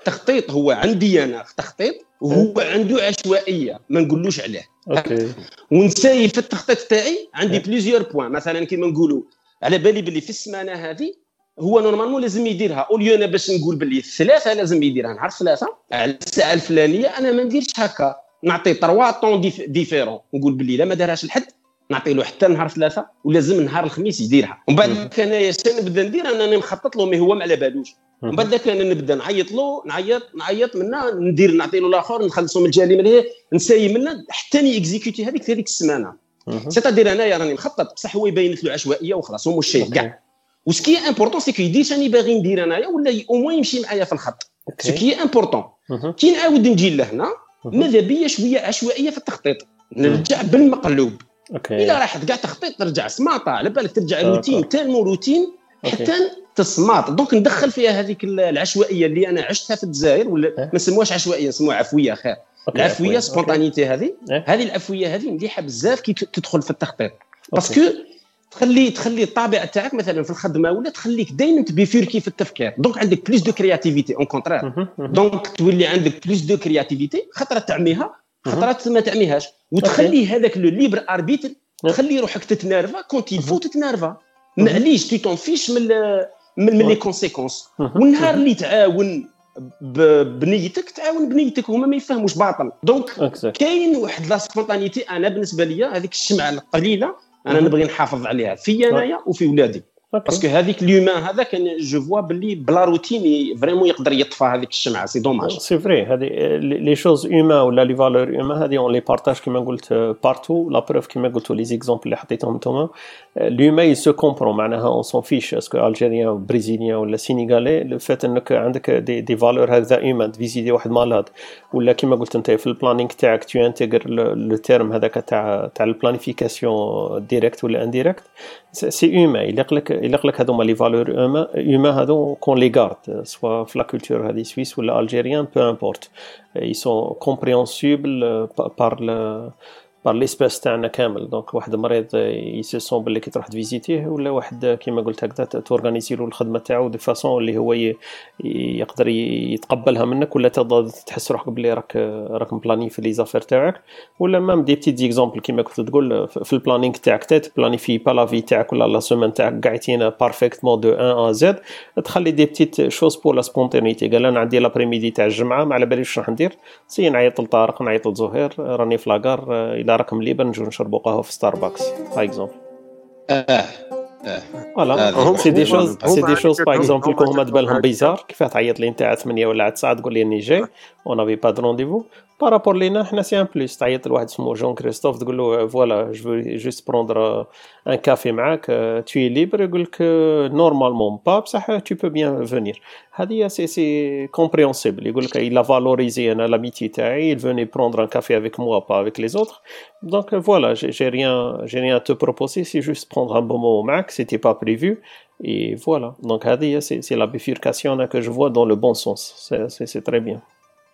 التخطيط هو عندي انا تخطيط وهو عنده عشوائيه ما نقولوش عليه. اوكي. ونساي في التخطيط تاعي عندي بليزيور بوين، مثلا كيما نقولوا على بالي باللي في السمانه هذه هو نورمالمون لازم يديرها، اوليو انا باش نقول باللي ثلاثه لازم يديرها نهار ثلاثه على الساعه الفلانيه، انا ما نديرش هكا، نعطي تروا طون ديفيرون، نقول باللي لا ما دارهاش الحد نعطي له حتى نهار ثلاثه ولازم نهار الخميس يديرها. ومن بعد كان انايا نبدا ندير انا نخطط له، مي هو ما على بالوش. ومن بعد كان نبدا نعيط له نعيط نعيط منه ندير نعطي له الاخر نخلصوا من الجالي من هنا نساي منه حتى ني اكزيكوتي هذيك هذيك السمانه. سيتادير انايا راني مخطط بصح هو يبينت له عشوائيه وخلاص هو مش شيء كاع. وسكي امبورطون سي كو يدير شاني باغي ندير انايا ولا او موين يمشي معايا في الخط. سكي امبورطون كي نعاود نجي لهنا ماذا بيا شويه عشوائيه في التخطيط، نرجع بالمقلوب. اوكي. الا راحت كاع تخطيط ترجع سماطه، على بالك ترجع روتين تالمو روتين حتى تصمات. دونك ندخل فيها هذيك العشوائيه اللي انا عشتها في الجزائر، ولا ما نسموهاش عشوائيه نسموها عفويه خير. العفويه سبونطانيتي هذه هذه العفويه هذه مليحه بزاف كي تدخل في التخطيط، باسكو تخلي تخلي الطابع تاعك مثلا في الخدمه ولا تخليك دائما تبيفيركي في التفكير. دونك عندك بليس دو كرياتيفيتي اون كونترير. دونك تولي عندك بليس دو كرياتيفيتي، خطرات تعميها خطرات ما تعميهاش، وتخلي هذاك لو ليبر اربيتر تخلي روحك تتنرفا كونت يفو تتنرفا. معليش تي تون فيش من من لي كونسيكونس. والنهار اللي تعاون بنيتك تعاون بنيتك، هما ما يفهموش باطل. دونك كاين واحد لا سبونطانيتي. انا بالنسبه لي هذيك الشمعه القليله انا نبغي نحافظ عليها في انايا وفي ولادي، باسكو هذيك اليومان هذا كان جو فوا باللي بلا روتين فريمون يقدر يطفى هذيك الشمعه. سي دوماج. سي فري هذه لي شوز هيومان ولا لي فالور هيومان هذه اون لي بارطاج كيما قلت بارتو. لا بروف كيما قلتوا لي زيكزامبل اللي حطيتهم نتوما الهيومان سو كومبرون، معناها اون سون فيش اسكو الجيريان بريزيليان ولا سينيغالي. لو فات انك عندك دي دي فالور هذا هيومان فيزيتي واحد مالاد، ولا كيما قلت انت في البلانينغ تاعك تو انتغر لو تيرم هذاك تاع تاع البلانيفيكاسيون ديريكت ولا انديريكت. سي هيومان يليق لك يليق لك هذوما لي فالور هيومان هذو كون لي غارد سوا في لا كولتور هذه سويس ولا الجيريان بو امبورت. ils sont compréhensibles par le بار ليسباس تاعنا كامل. دونك واحد مريض يسيسون باللي كي تروح تفيزيتيه، ولا واحد كيما قلت هكذا تورغانيزي له الخدمه تاعو دي فاصون اللي هو يقدر يتقبلها منك، ولا تقدر تحس روحك باللي راك راك مبلاني في لي زافير تاعك. ولا مام دي بتيت زيكزامبل كيما كنت تقول في البلانينغ تاعك تات بلانيفي با لا في تاعك ولا لا سيمين تاعك قاعدين بارفيكتمون دو واحد ا زد. تخلي دي بتيت شوز بور لا سبونتانيتي. قال انا عندي لابريميدي تاع الجمعه ما على باليش واش راح ندير، سي نعيط لطارق نعيط لزهير راني في لاكار راكم ليبر نجو نشربوا قهوه في ستاربكس باغ اكزومبل. اه اه فوالا سي دي شوز سي دي شوز باغ اكزومبل كون هما تبان بالهم كيفاه تعيط لي نتاع ثمانية ولا تسعة تقول لي اني جاي اون افي با دو رونديفو بارابور لينا حنا سي ان بليس. تعيط لواحد اسمه جون كريستوف تقول له فوالا جو جوست بروندر ان كافي معاك تي ليبر، يقول لك نورمالمون با بصح تو بو بيان فينير. هذه سي سي كومبريهنسيبل. يقول لك il a valorisé انا لاميتي تاعي، il venait prendre un café avec moi pas avec les autres. donc voilà j'ai rien j'ai rien à te proposer, c'est juste prendre un bon moment معك, c'était pas prévu et voilà. donc هذه c'est c'est la bifurcation que je vois dans le bon sens. c'est c'est, c'est très bien.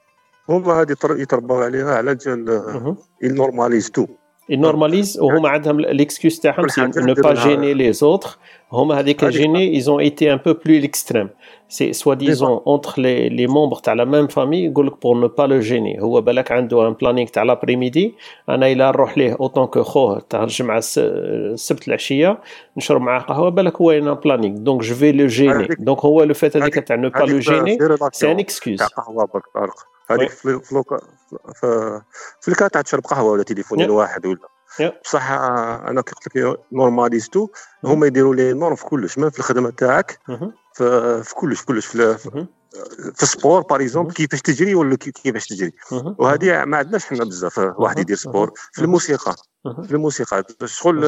هما هذه يتربوا عليها على جال ينورماليز تو ينورماليز وهما عندهم ليكسكيوز تاعهم سي نو با جيني لي زوتر. هما هذيك جيني ils ont été un peu plus l'extrême. c'est soi-disant entre les les membres تاع la même famille يقول لك pour ne pas le gêner. هو بالك عنده ان بلانينغ تاع لابريميدي، انا الا نروح ليه اوطون كو خوه تاع الجمعه السبت العشيه نشرب معاه قهوه، بالك هو ان بلانينغ دونك جو في لو جيني. دونك هو لو فات هذيك تاع نو با لو جيني سي ان اكسكيوز تاع قهوه بالطرق هذيك في فلوكا في في الكات تاع تشرب قهوه ولا تليفون واحد ولا بصح. انا كي قلت لك نورماليزتو هما يديروا لي نورم في كلش، ما في الخدمه تاعك في في كلش كلش في في السبور باغ اكزومبل كيفاش تجري ولا كيفاش تجري. وهذه ما عندناش حنا بزاف واحد يدير سبور. في الموسيقى في الموسيقى شغل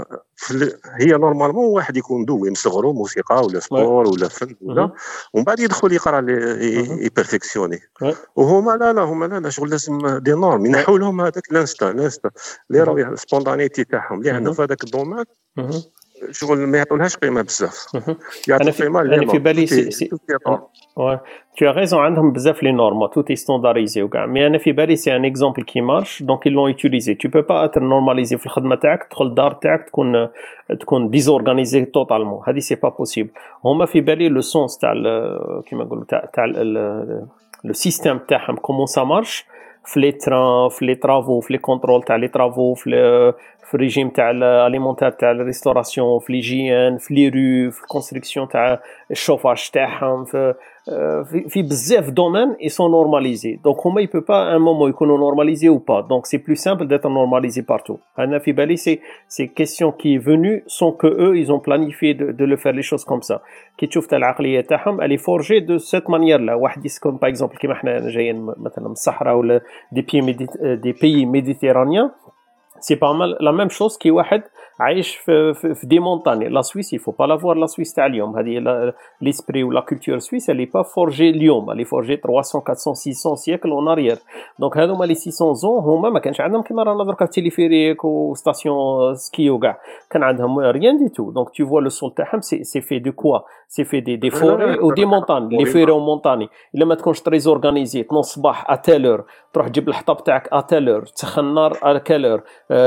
هي نورمالمون واحد يكون دوي من صغرو موسيقى ولا سبور ولا فن ولا ومن بعد يدخل يقرا لي بيرفكسيوني. وهما لا لا هما لا لا شغل لازم دي نورم ينحوا لهم هذاك لانستا لانستا اللي راهي سبونطانيتي تاعهم اللي عندهم في هذاك الدومين شغل ما يعطونهاش قيمه بزاف. انا في انا في بالي سي سي ouais tu as raison عندهم بزاف لي نورم tout est standardisé وكاع. مي انا في بالي سي ان اكزامبل كي مارش دونك ils l'ont utilisé. tu peux pas être normalisé في الخدمه تاعك تدخل الدار تاعك تكون تكون ديزورغانيزي توتالمون، هذه سي با بوسيبل. هما في بالي لو سونس تاع كيما نقولوا تاع تاع le système تاعهم comment ça marche في les trains في les travaux في les contrôles تاع les travaux في في الريجيم تاع الاليمونتير تاع الريستوراسيون في ليجيان في لي رو في الكونستركسيون تاع الشوفاج تاعهم في في في بزاف دومين ils sont normalisés donc هما il peut pas un moment يكونوا normalisés ou pas donc c'est plus simple d'être normalisé partout انا في بالي c'est c'est question qui est venue sans que eux ils ont planifié de, de le faire les choses comme ça كي تشوف تاع العقليه تاعهم elle est forgée de cette manière là واحد يسكن par exemple كيما احنا جايين مثلا من الصحراء ولا des pays des pays méditerranéens c'est pas mal la même chose كي واحد عايش في في, في دي مونتاني لا سويس il faut pas la voir la Suisse تاع اليوم هذه l'esprit ou la culture suisse elle est pas forgée اليوم elle est forgée trois cents quatre cents six cents siècles en arrière donc هذوما لي six cents ans هما ما كانش عندهم كيما رانا دركا تيليفيريك وستاسيون سكي وكاع كان عندهم rien du tout donc tu vois le sol تاعهم c'est c'est fait de quoi c'est fait des des forêts ou des montagnes les forêts montagnes الا ما تكونش très organisé تنوض الصباح à telle heure تروح تجيب الحطب تاعك à telle heure تسخن النار à quelle heure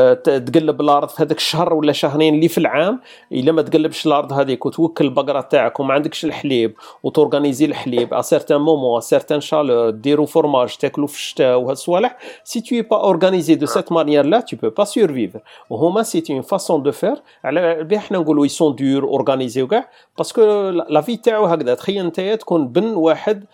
تقلب الارض في هذاك الشهر ولا شهرين اللي في العام الا ما تقلبش الارض هذيك وتوكل البقره تاعك وما عندكش الحليب وتورغانيزي الحليب ا سيرتان مومون ا سيرتان شالور ديروا فورماج تاكلوا في الشتاء وهالصوالح سي tu es pas organisé de cette manière là tu peux pas survivre وهما c'est une façon de faire على بها احنا نقولوا ils sont durs organisés وكاع باسكو لا في تاعو هكذا تخيل انت تكون بن واحد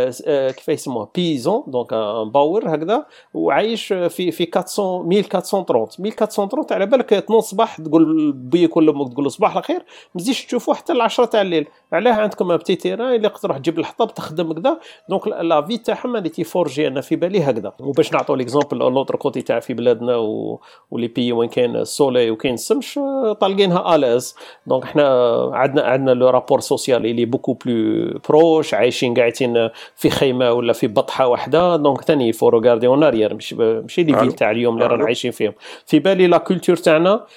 كيف يسموه بيزون دونك ان باور هكذا وعايش في في أربعمية أربعة وثلاثين أربعمية أربعة وثلاثين على بالك تنوض صباح تقول بيك ولا امك تقول له صباح الخير ما تزيدش تشوفوا حتى العشرة تاع الليل علاه عندكم ان بتي تيران اللي تروح تجيب الحطب تخدم كذا دونك لا في تاعهم اللي تيفورجي انا في بالي هكذا وباش نعطوا ليكزامبل لوطر كوتي تاع في بلادنا و... ولي بي وين كاين السولي وكاين السمش طالقينها الاز دونك احنا عندنا عندنا لو رابور سوسيال اللي بوكو بلو بروش عايشين قاعدين في خيمه ولا في بطحه واحده دونك ثاني فو روغاردي اون اريير مش ماشي لي فيل تاع اليوم اللي رانا عايشين فيهم في بالي لا كولتور تاعنا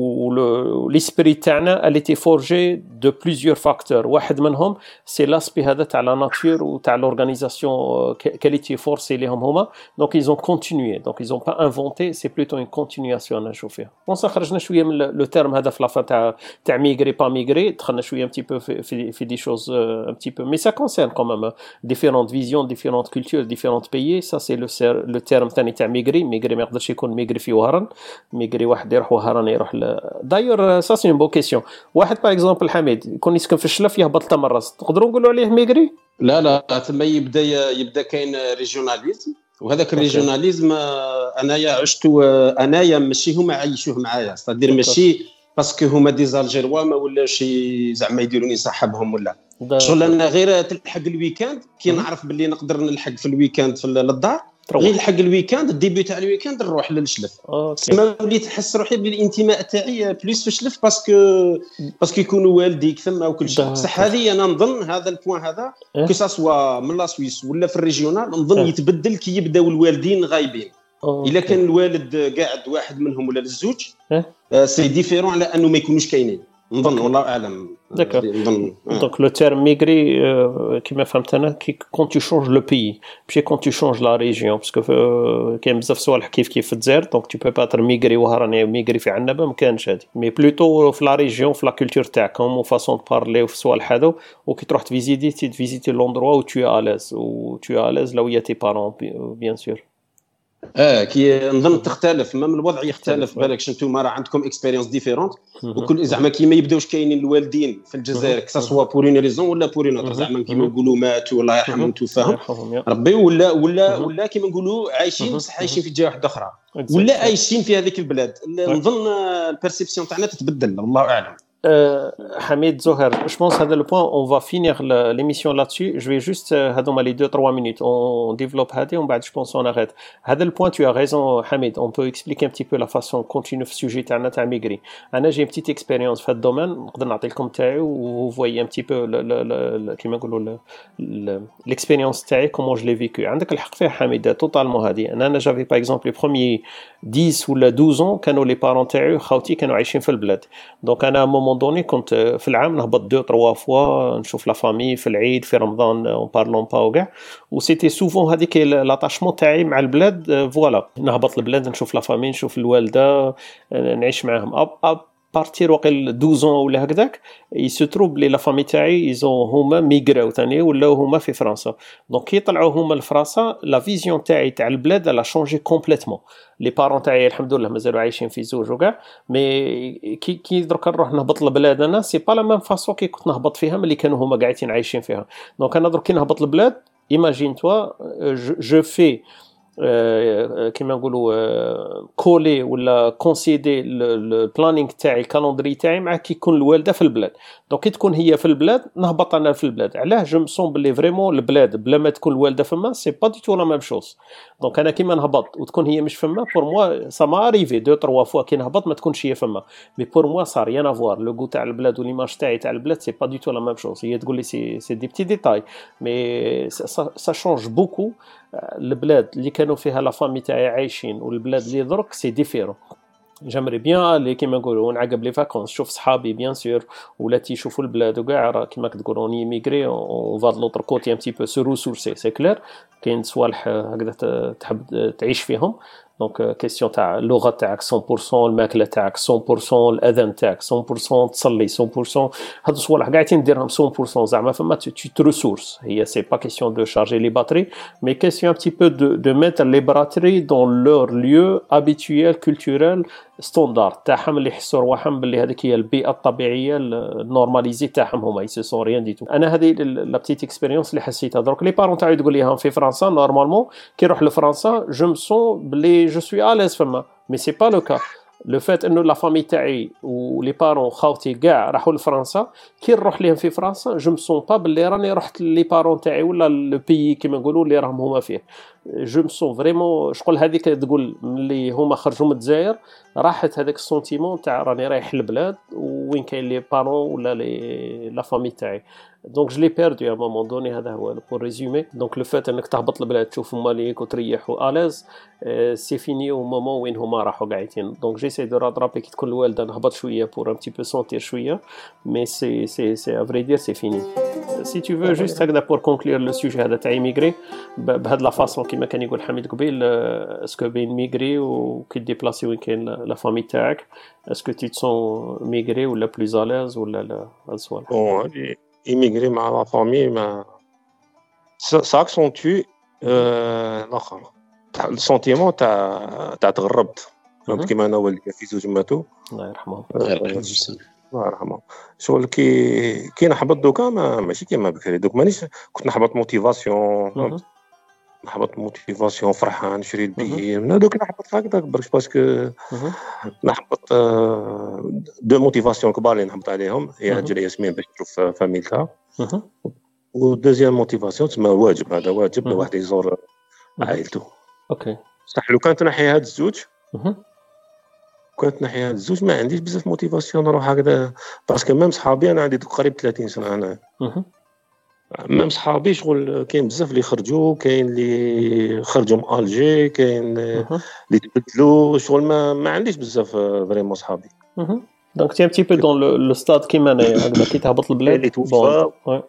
و l'esprit تاعنا elle était forgée de plusieurs facteurs واحد منهم c'est l'aspect هذا تاع la nature و تاع l'organisation qu'elle était forcée لهم هما donc ils ont continué donc ils ont pas inventé c'est plutôt une continuation انا نشوف فيها بون خرجنا شويه من لو تيرم هذا في لافا تاع تاع ميغري با ميغري دخلنا شويه un petit peu في في, في دي choses un petit peu mais ça concerne quand même différentes visions différentes cultures différents pays ça c'est le le terme ثاني تاع ميغري ميغري ما يقدرش يكون ميغري في وهران ميغري واحد يروح وهران يروح داير سا سي بو كيسيون واحد باغ اكزومبل حميد يكون يسكن في الشلف يهبط تمرس تقدروا نقولوا عليه ميغري لا لا ثم يبدا يبدا كاين ريجيوناليزم وهذاك الريجيوناليزم انايا عشت انايا ماشي هما عايشوه معايا صدير ماشي باسكو هما دي زالجيروا ما ولاش زعما يديروني صاحبهم ولا شغل انا غير تلحق الويكاند كي نعرف باللي نقدر نلحق في الويكاند في الدار غير لحق الويكاند الديبي تاع الويكاند نروح للشلف تما وليت نحس روحي بالانتماء تاعي بليس في الشلف باسكو باسكو يكونوا والديك ثم وكل شيء بصح هذه انا نظن هذا البوان هذا كو سوا من لا سويس ولا في الريجيونال نظن يتبدل كي يبداو الوالدين غايبين الا كان الوالد قاعد واحد منهم ولا الزوج سي ديفيرون على انه ما يكونوش كاينين نظن والله اعلم نظن دونك لو تيرم ميغري كيما فهمت انا كي كون تو شونج لو بيي ماشي كون تو شونج لا ريجيون باسكو كاين بزاف صوالح كيف كيف في الجزائر دونك تو بو با تر ميغري وهراني ميغري في عنابه ما كانش هادي مي بلوتو في لا ريجيون في لا كولتور تاعكم و فاصون بارلي في الصوالح هذو وكي تروح تفيزيتي تفيزيتي لوندروا و تو الاز و تو الاز لو يا تي بارون بيان سور اه كي نظن تختلف ما من الوضع يختلف بالك شنتو راه عندكم اكسبيريونس ديفيرونت وكل زعما كي ما يبداوش كاينين الوالدين في الجزائر كسا سوا بور اون ريزون ولا بور اون اوتر زعما كيما نقولوا ماتوا الله يرحمهم توفاهم ربي ولا ولا ولا كيما نقولوا عايشين بصح عايشين في جهه واحده اخرى ولا عايشين في هذيك البلاد نظن البيرسيبسيون تاعنا تتبدل الله اعلم. Euh, Hamid Zohar, je pense que le point, on va finir l'émission là-dessus. Je vais juste, euh, les deux trois minutes, on développe Hadi, on je pense on arrête. Hadi, le point, tu as raison, Hamid. On peut expliquer un petit peu la façon qu'on continue le sujet de la migrer. Anna, j'ai une petite expérience dans ce domaine. Je vais vous donner vous voyez un petit peu le, le, le, le, le, l'expérience تاعي, comment je l'ai vécu. عندك الحق فيها حميد, totalement Hadi. Anna, j'avais par exemple les premiers dix ou douze ans, كانوا les parents تاعي خوتي كانوا عايشين في البلاد. Donc أنا à un moment donné كنت في العام نهبط دو تروا فوا نشوف لا فامي في العيد في رمضان اون بارلون با وكاع و سيتي سوفون هذيك لاتاشمون تاعي مع البلاد فوالا نهبط البلاد نشوف لا فامي نشوف الوالده نعيش معاهم اب اب بارتير وقيل اثنا عشر ولا هكذاك يستروب لي لا فامي تاعي ايزون هما ميغراو ثاني ولاو هما في فرنسا. دونك كي طلعوا هما لفرنسا لا فيزيون تاعي تاع البلاد لا شونجي كومبليتوم. لي بارون تاعي الحمد لله مازالوا عايشين في زوج وكاع، مي كي كي درك نروح نهبط لبلاد انا سي با لا ميم فاسون كي كنت نهبط فيها ملي كانوا هما قاعدين عايشين فيها. دونك انا درك كي نهبط لبلاد ايماجين توا جو في كيما نقولوا كولي ولا كونسيدي البلانينغ تاعي الكالندري تاعي مع كي يكون الوالده في البلاد. دونك كي تكون هي في البلاد نهبط انا في البلاد. علاه جو مسون بلي فريمون البلاد بلا ما تكون الوالده فما سي با دي تو لا ميم شوز. دونك انا كيما نهبط وتكون هي مش فما بور موا سا ما اريفي دو تروا فوا كي نهبط ما تكونش هي فما، مي بور موا صار ريان افوار لو غو تاع البلاد وليماج تاعي تاع البلاد سي با دي تو لا ميم شوز. هي تقول لي سي سي دي بتي ديتاي مي سا شونج بوكو. البلاد اللي كانوا فيها لا فامي تاعي عايشين والبلاد اللي درك سي ديفيرون. جامري بيان اللي كيما نقولوا نعقب لي فاكونس شوف صحابي بيان سور ولاتي يشوفوا البلاد وكاع كيما كتقولوا ني ميغري اون فاد لوتر كوتي ان تي بو سو ريسورسي سي كلير. كاين صوالح هكذا تحب تعيش فيهم. دونك كيسيون تاع اللغه تاعك مية بالمية، الماكله تاعك مية بالمية، الاذان تاعك مية بالمية، تصلي مية بالمية. هاد الصوالح قاعدين ديرهم مية بالمية زعما فما tu te ressources. هي سي با كيسيون دو شارجي لي باتري مي كيسيون ان تي بو دو دو ميتر لي باتري دون لور ليو ابيتويل كولتورال ستاندارد تاعهم اللي يحسوا رواحهم باللي هذيك هي البيئه الطبيعيه النورماليزي تاعهم هما يسو سون ريان دي تو. انا هذه لا بتيت اكسبيريونس اللي حسيتها درك. لي بارون تاعي تقول لي في فرنسا نورمالمون كي نروح لفرنسا جو مسون بلي جو سوي اليز فما مي سي با لو كا. لو فات انه لا فامي تاعي ولي بارون خاوتي كاع راحوا لفرنسا كي نروح لهم في فرنسا جو مسون با بلي راني رحت لي بارون تاعي ولا لو بيي كيما نقولوا اللي راهم هما فيه. جو مسون فريمون شغل هذيك تقول ملي هما خرجوا من الجزائر راحت هذاك السونتيمون تاع راني رايح للبلاد وين كاين لي بارون ولا لي لا فامي تاعي. دونك جو لي بيردو ا مومون دوني. هذا هو بور ريزومي. دونك لو فات انك تهبط للبلاد تشوف هما ليك وتريح واليز سي فيني او مومون وين هما راحوا قاعدين. دونك جيساي دو راترابي كي تكون الوالده نهبط شويه بور ان تي بو سونتير شويه مي سي سي سي ا فري دير سي فيني. سي تو فو جوست هكذا بور كونكلير لو سوجي هذا تاع ميغري بهاد لا فاصون كيما كان يقول حميد قبيل. اسكو بين ميغري وكي ديبلاسي وين كاين لا فامي تاعك اسكو تي تسون ميغري ولا بلوز اليز ولا لا؟ هاد السؤال. إيميغري مع لا فامي ما ساكسونتوي الآخر السونتيمون تاع تاع تغربت. فهمت كيما أنا والدي في زوج ماتوا الله يرحمهم. الله يرحمهم. شغل كي كي نحبط دوكا ما ماشي كيما بكري دوك مانيش كنت نحبط موتيفاسيون نحبط موتيفاسيون فرحان نشري البي من دوك نحبط هكذاك برك باسكو نحبط دو موتيفاسيون كبار اللي نحبط عليهم هي هجرة ياسمين باش تشوف فاميلتها ودوزيام موتيفاسيون تسمى واجب. هذا واجب الواحد يزور عائلته. اوكي صح. لو كانت نحي هاد الزوج كنت نحي هاد الزوج ما عنديش بزاف موتيفاسيون نروح هكذا باسكو ميم صحابي انا عندي قريب ثلاثين سنه انا ميم صحابي شغل كاين بزاف اللي خرجوا كاين اللي خرجوا من الجي كاين اللي تبدلوا شغل ما ما عنديش بزاف فريمون صحابي. دونك تي ان تي بو دون لو ستاد كيما انا هكذا كي تهبط البلاد اللي توفى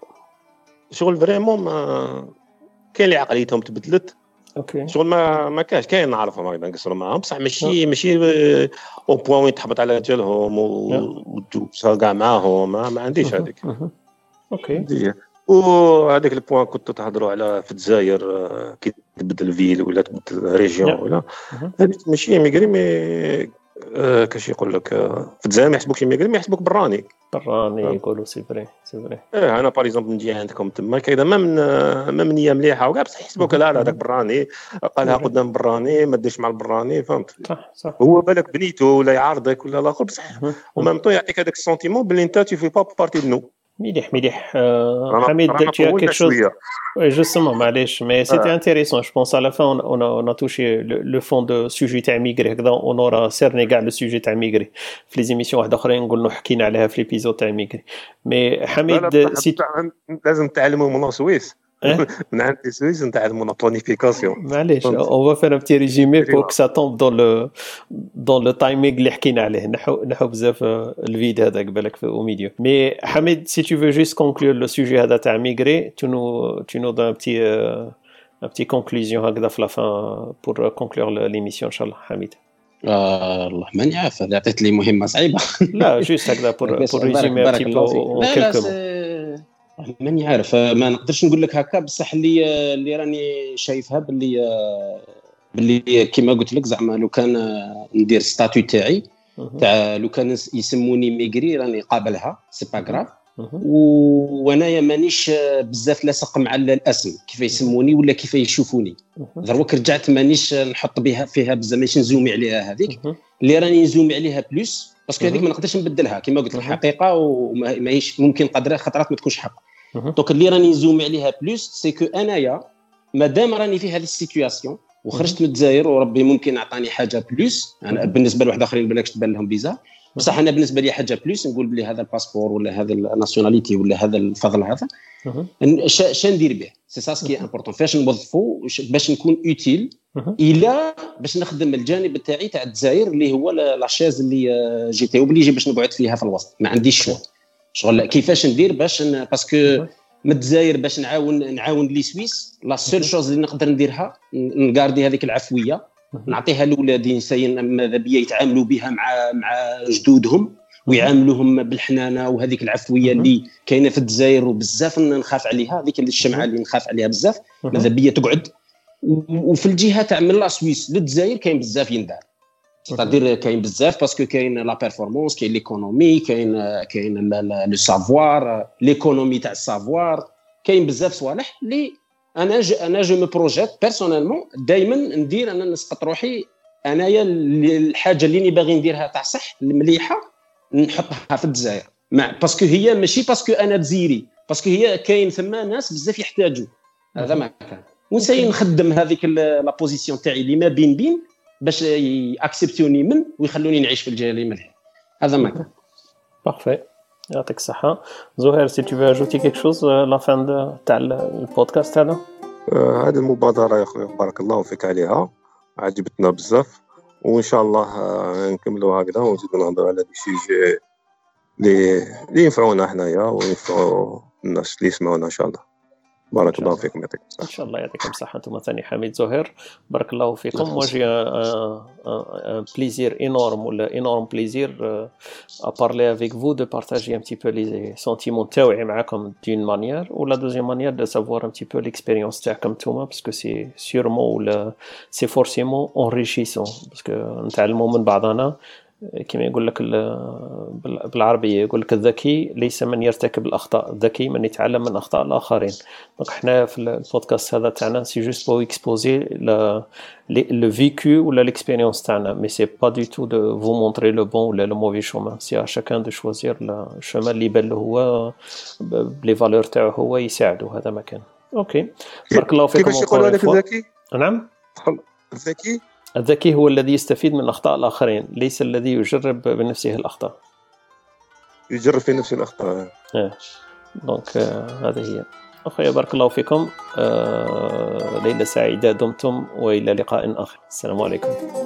شغل فريمون ما كاين اللي عقليتهم تبدلت. اوكي شغل ما ما كاش كاين نعرفهم هكذا نقصروا معاهم بصح ماشي ماشي او بوين وين تحبط على جالهم وتدوس كاع معاهم ما, ما عنديش هذيك. اوكي. وهذاك البوان كنتو تهضروا على في الجزائر كي تبدل فيل ولا تبدل ريجيون ولا هذيك ماشي ميغري مي كاش يقول لك في الجزائر ما يحسبوكش ميغري ما يحسبوك براني براني يقولوا سي فري سي فري. اه انا باغ اكزومبل نجي عندكم تما كذا ما من ما من نيه مليحه وكاع بصح يحسبوك لا لا هذاك براني قالها قدام براني ما ديرش مع البراني. فهمت صح صح. هو بالك بنيته ولا يعارضك ولا الاخر بصح ومام طو يعطيك هذاك السونتيمون بلي انت تي في با بارتي دو نو. مليح مليح. حميد tu as quelque chose oui justement معليش mais c'était intéressant je pense à la fin on on a, on a touché le, le fond de sujet تاع ميغري هكذا on aura cerné كاع le sujet تاع ميغري في لي زيميسيون واحده اخرين نقولوا حكينا عليها في ليبيزود تاع ميغري. مي حميد سي لازم تعلموا من السويس من عند السويس نتعلموا لا بلانيفيكاسيون معليش on va faire un petit résumé pour que ça tombe dans le dans le timing اللي حكينا عليه. نحو نحو بزاف الفيديو هذا قبلك في اوميديو. مي حميد si tu veux juste conclure le sujet هذا تاع ميغري tu nous tu nous donnes un petit un petit conclusion هكذا في la fin pour conclure l'émission ان شاء الله. حميد آه الله ماني عارف، هذا عطيت لي مهمه صعيبه. لا جوست هكذا بور بور ريزومي ان بو كلكو. ماني عارف، ما نقدرش نقول لك هكا، بصح اللي اللي راني شايفها باللي باللي كيما قلت لك زعما لو كان ندير ستاتيو تاعي تاع لو كان يسموني ميغري راني قابلها سي با غراف. وانايا مانيش بزاف لاصق مع الاسم كيف يسموني ولا كيف يشوفوني. دروك رجعت مانيش نحط بها فيها بزاف، ماشي نزومي عليها. هذيك اللي راني نزومي عليها بلوس باسكو هذيك ما نقدرش نبدلها كيما قلت الحقيقه، وماهيش ممكن قدرها خطرات ما تكونش حق. دونك اللي راني نزومي عليها بلوس سي كو انايا مادام راني في هذه السيتوياسيون وخرجت من الجزائر وربي ممكن عطاني حاجه بلوس. انا بالنسبه لواحد اخرين بالكش تبان لهم بيزا، بصح انا بالنسبه لي حاجه بلوس نقول بلي هذا الباسبور ولا هذا الناسيوناليتي ولا هذا الفضل هذا اش ندير به. سي سا سكي امبورطون فاش نوظفو باش نكون اوتيل الى باش نخدم الجانب تاعي تاع الجزائر اللي هو لاشيز اللي جيتي وبليجي باش نقعد فيها في الوسط. ما عنديش شغل شغل كيفاش ندير باش باسكو من الجزائر باش نعاون نعاون لي سويس. لا سول شوز اللي نقدر نديرها نغاردي هذيك العفويه نعطيها لولادي نساين ماذا بيا يتعاملوا بها مع مع جدودهم ويعاملوهم بالحنانه وهذيك العفويه اللي كاينه في الجزائر وبزاف نخاف عليها. هذيك الشمعه اللي نخاف عليها بزاف ماذا بيا تقعد. وفي الجهه تاع من لا سويس للجزائر كاين بزاف يندار، c'est-à-dire كاين بزاف باسكو كاين لا بيرفورمانس، كاين ليكونومي، كاين كاين لو سافوار، ليكونومي تاع السافوار، كاين بزاف صوالح اللي انا ج... انا جو مو بروجيت بيرسونيلمون دائما ندير انا نسقط روحي انايا الحاجه اللي باغي نديرها تاع صح المليحه نحطها في الجزائر مع باسكو هي ماشي باسكو انا جزيري، باسكو هي كاين ثم ناس بزاف يحتاجوا هذا ما كان. ونساي نخدم هذيك لا بوزيسيون تاعي اللي ما بين بين باش ياكسبتوني من ويخلوني نعيش في الجزائر اللي مليح. هذا ما كان. بارفي يعطيك الصحه. زهير سي تو اجوتي كيك شوز لا فان تاع البودكاست هذا؟ هذه المبادره يا خويا بارك الله فيك عليها، عجبتنا بزاف، وان شاء الله نكملوا هكذا ونزيدوا نهضروا على دي سوجي اللي اللي ينفعونا حنايا وينفعوا الناس اللي يسمعونا ان شاء الله. بارك الله فيكم يعطيكم الصحة. إن شاء الله يعطيكم الصحة. أنتم ثاني حميد زهير بارك الله فيكم. موجي un plaisir énorme ou un énorme plaisir à parler avec vous, de partager un petit peu les sentiments تاوعي معكم d'une manière ou la deuxième manière de savoir un petit peu l'expérience تاعكم نتوما parce que c'est sûrement ou c'est forcément enrichissant parce que نتعلموا من بعضنا. كما يقول لك بالعربية يقول لك الذكي ليس من يرتكب الأخطاء، الذكي من يتعلم من أخطاء الآخرين. دونك احنا في البودكاست هذا تاعنا سي جوست بو اكسبوزي لو فيكو ولا ليكسبيريونس تاعنا، مي سي با دو تو دو فو مونطري لو بون ولا لو موفي شومان. سي ا شاكان دو شوازير الشومان اللي يبان له هو بلي فالور تاعو هو يساعده. هذا ما كان. اوكي بارك الله فيكم. كيفاش يقولوا لك الذكي؟ نعم الذكي الذكي هو الذي يستفيد من أخطاء الآخرين، ليس الذي يجرب بنفسه الأخطاء. يجرب في نفسه الأخطاء. اه دونك آه هذه هي. أخويا بارك الله فيكم. آه ليلة سعيدة دمتم وإلى لقاء آخر. السلام عليكم.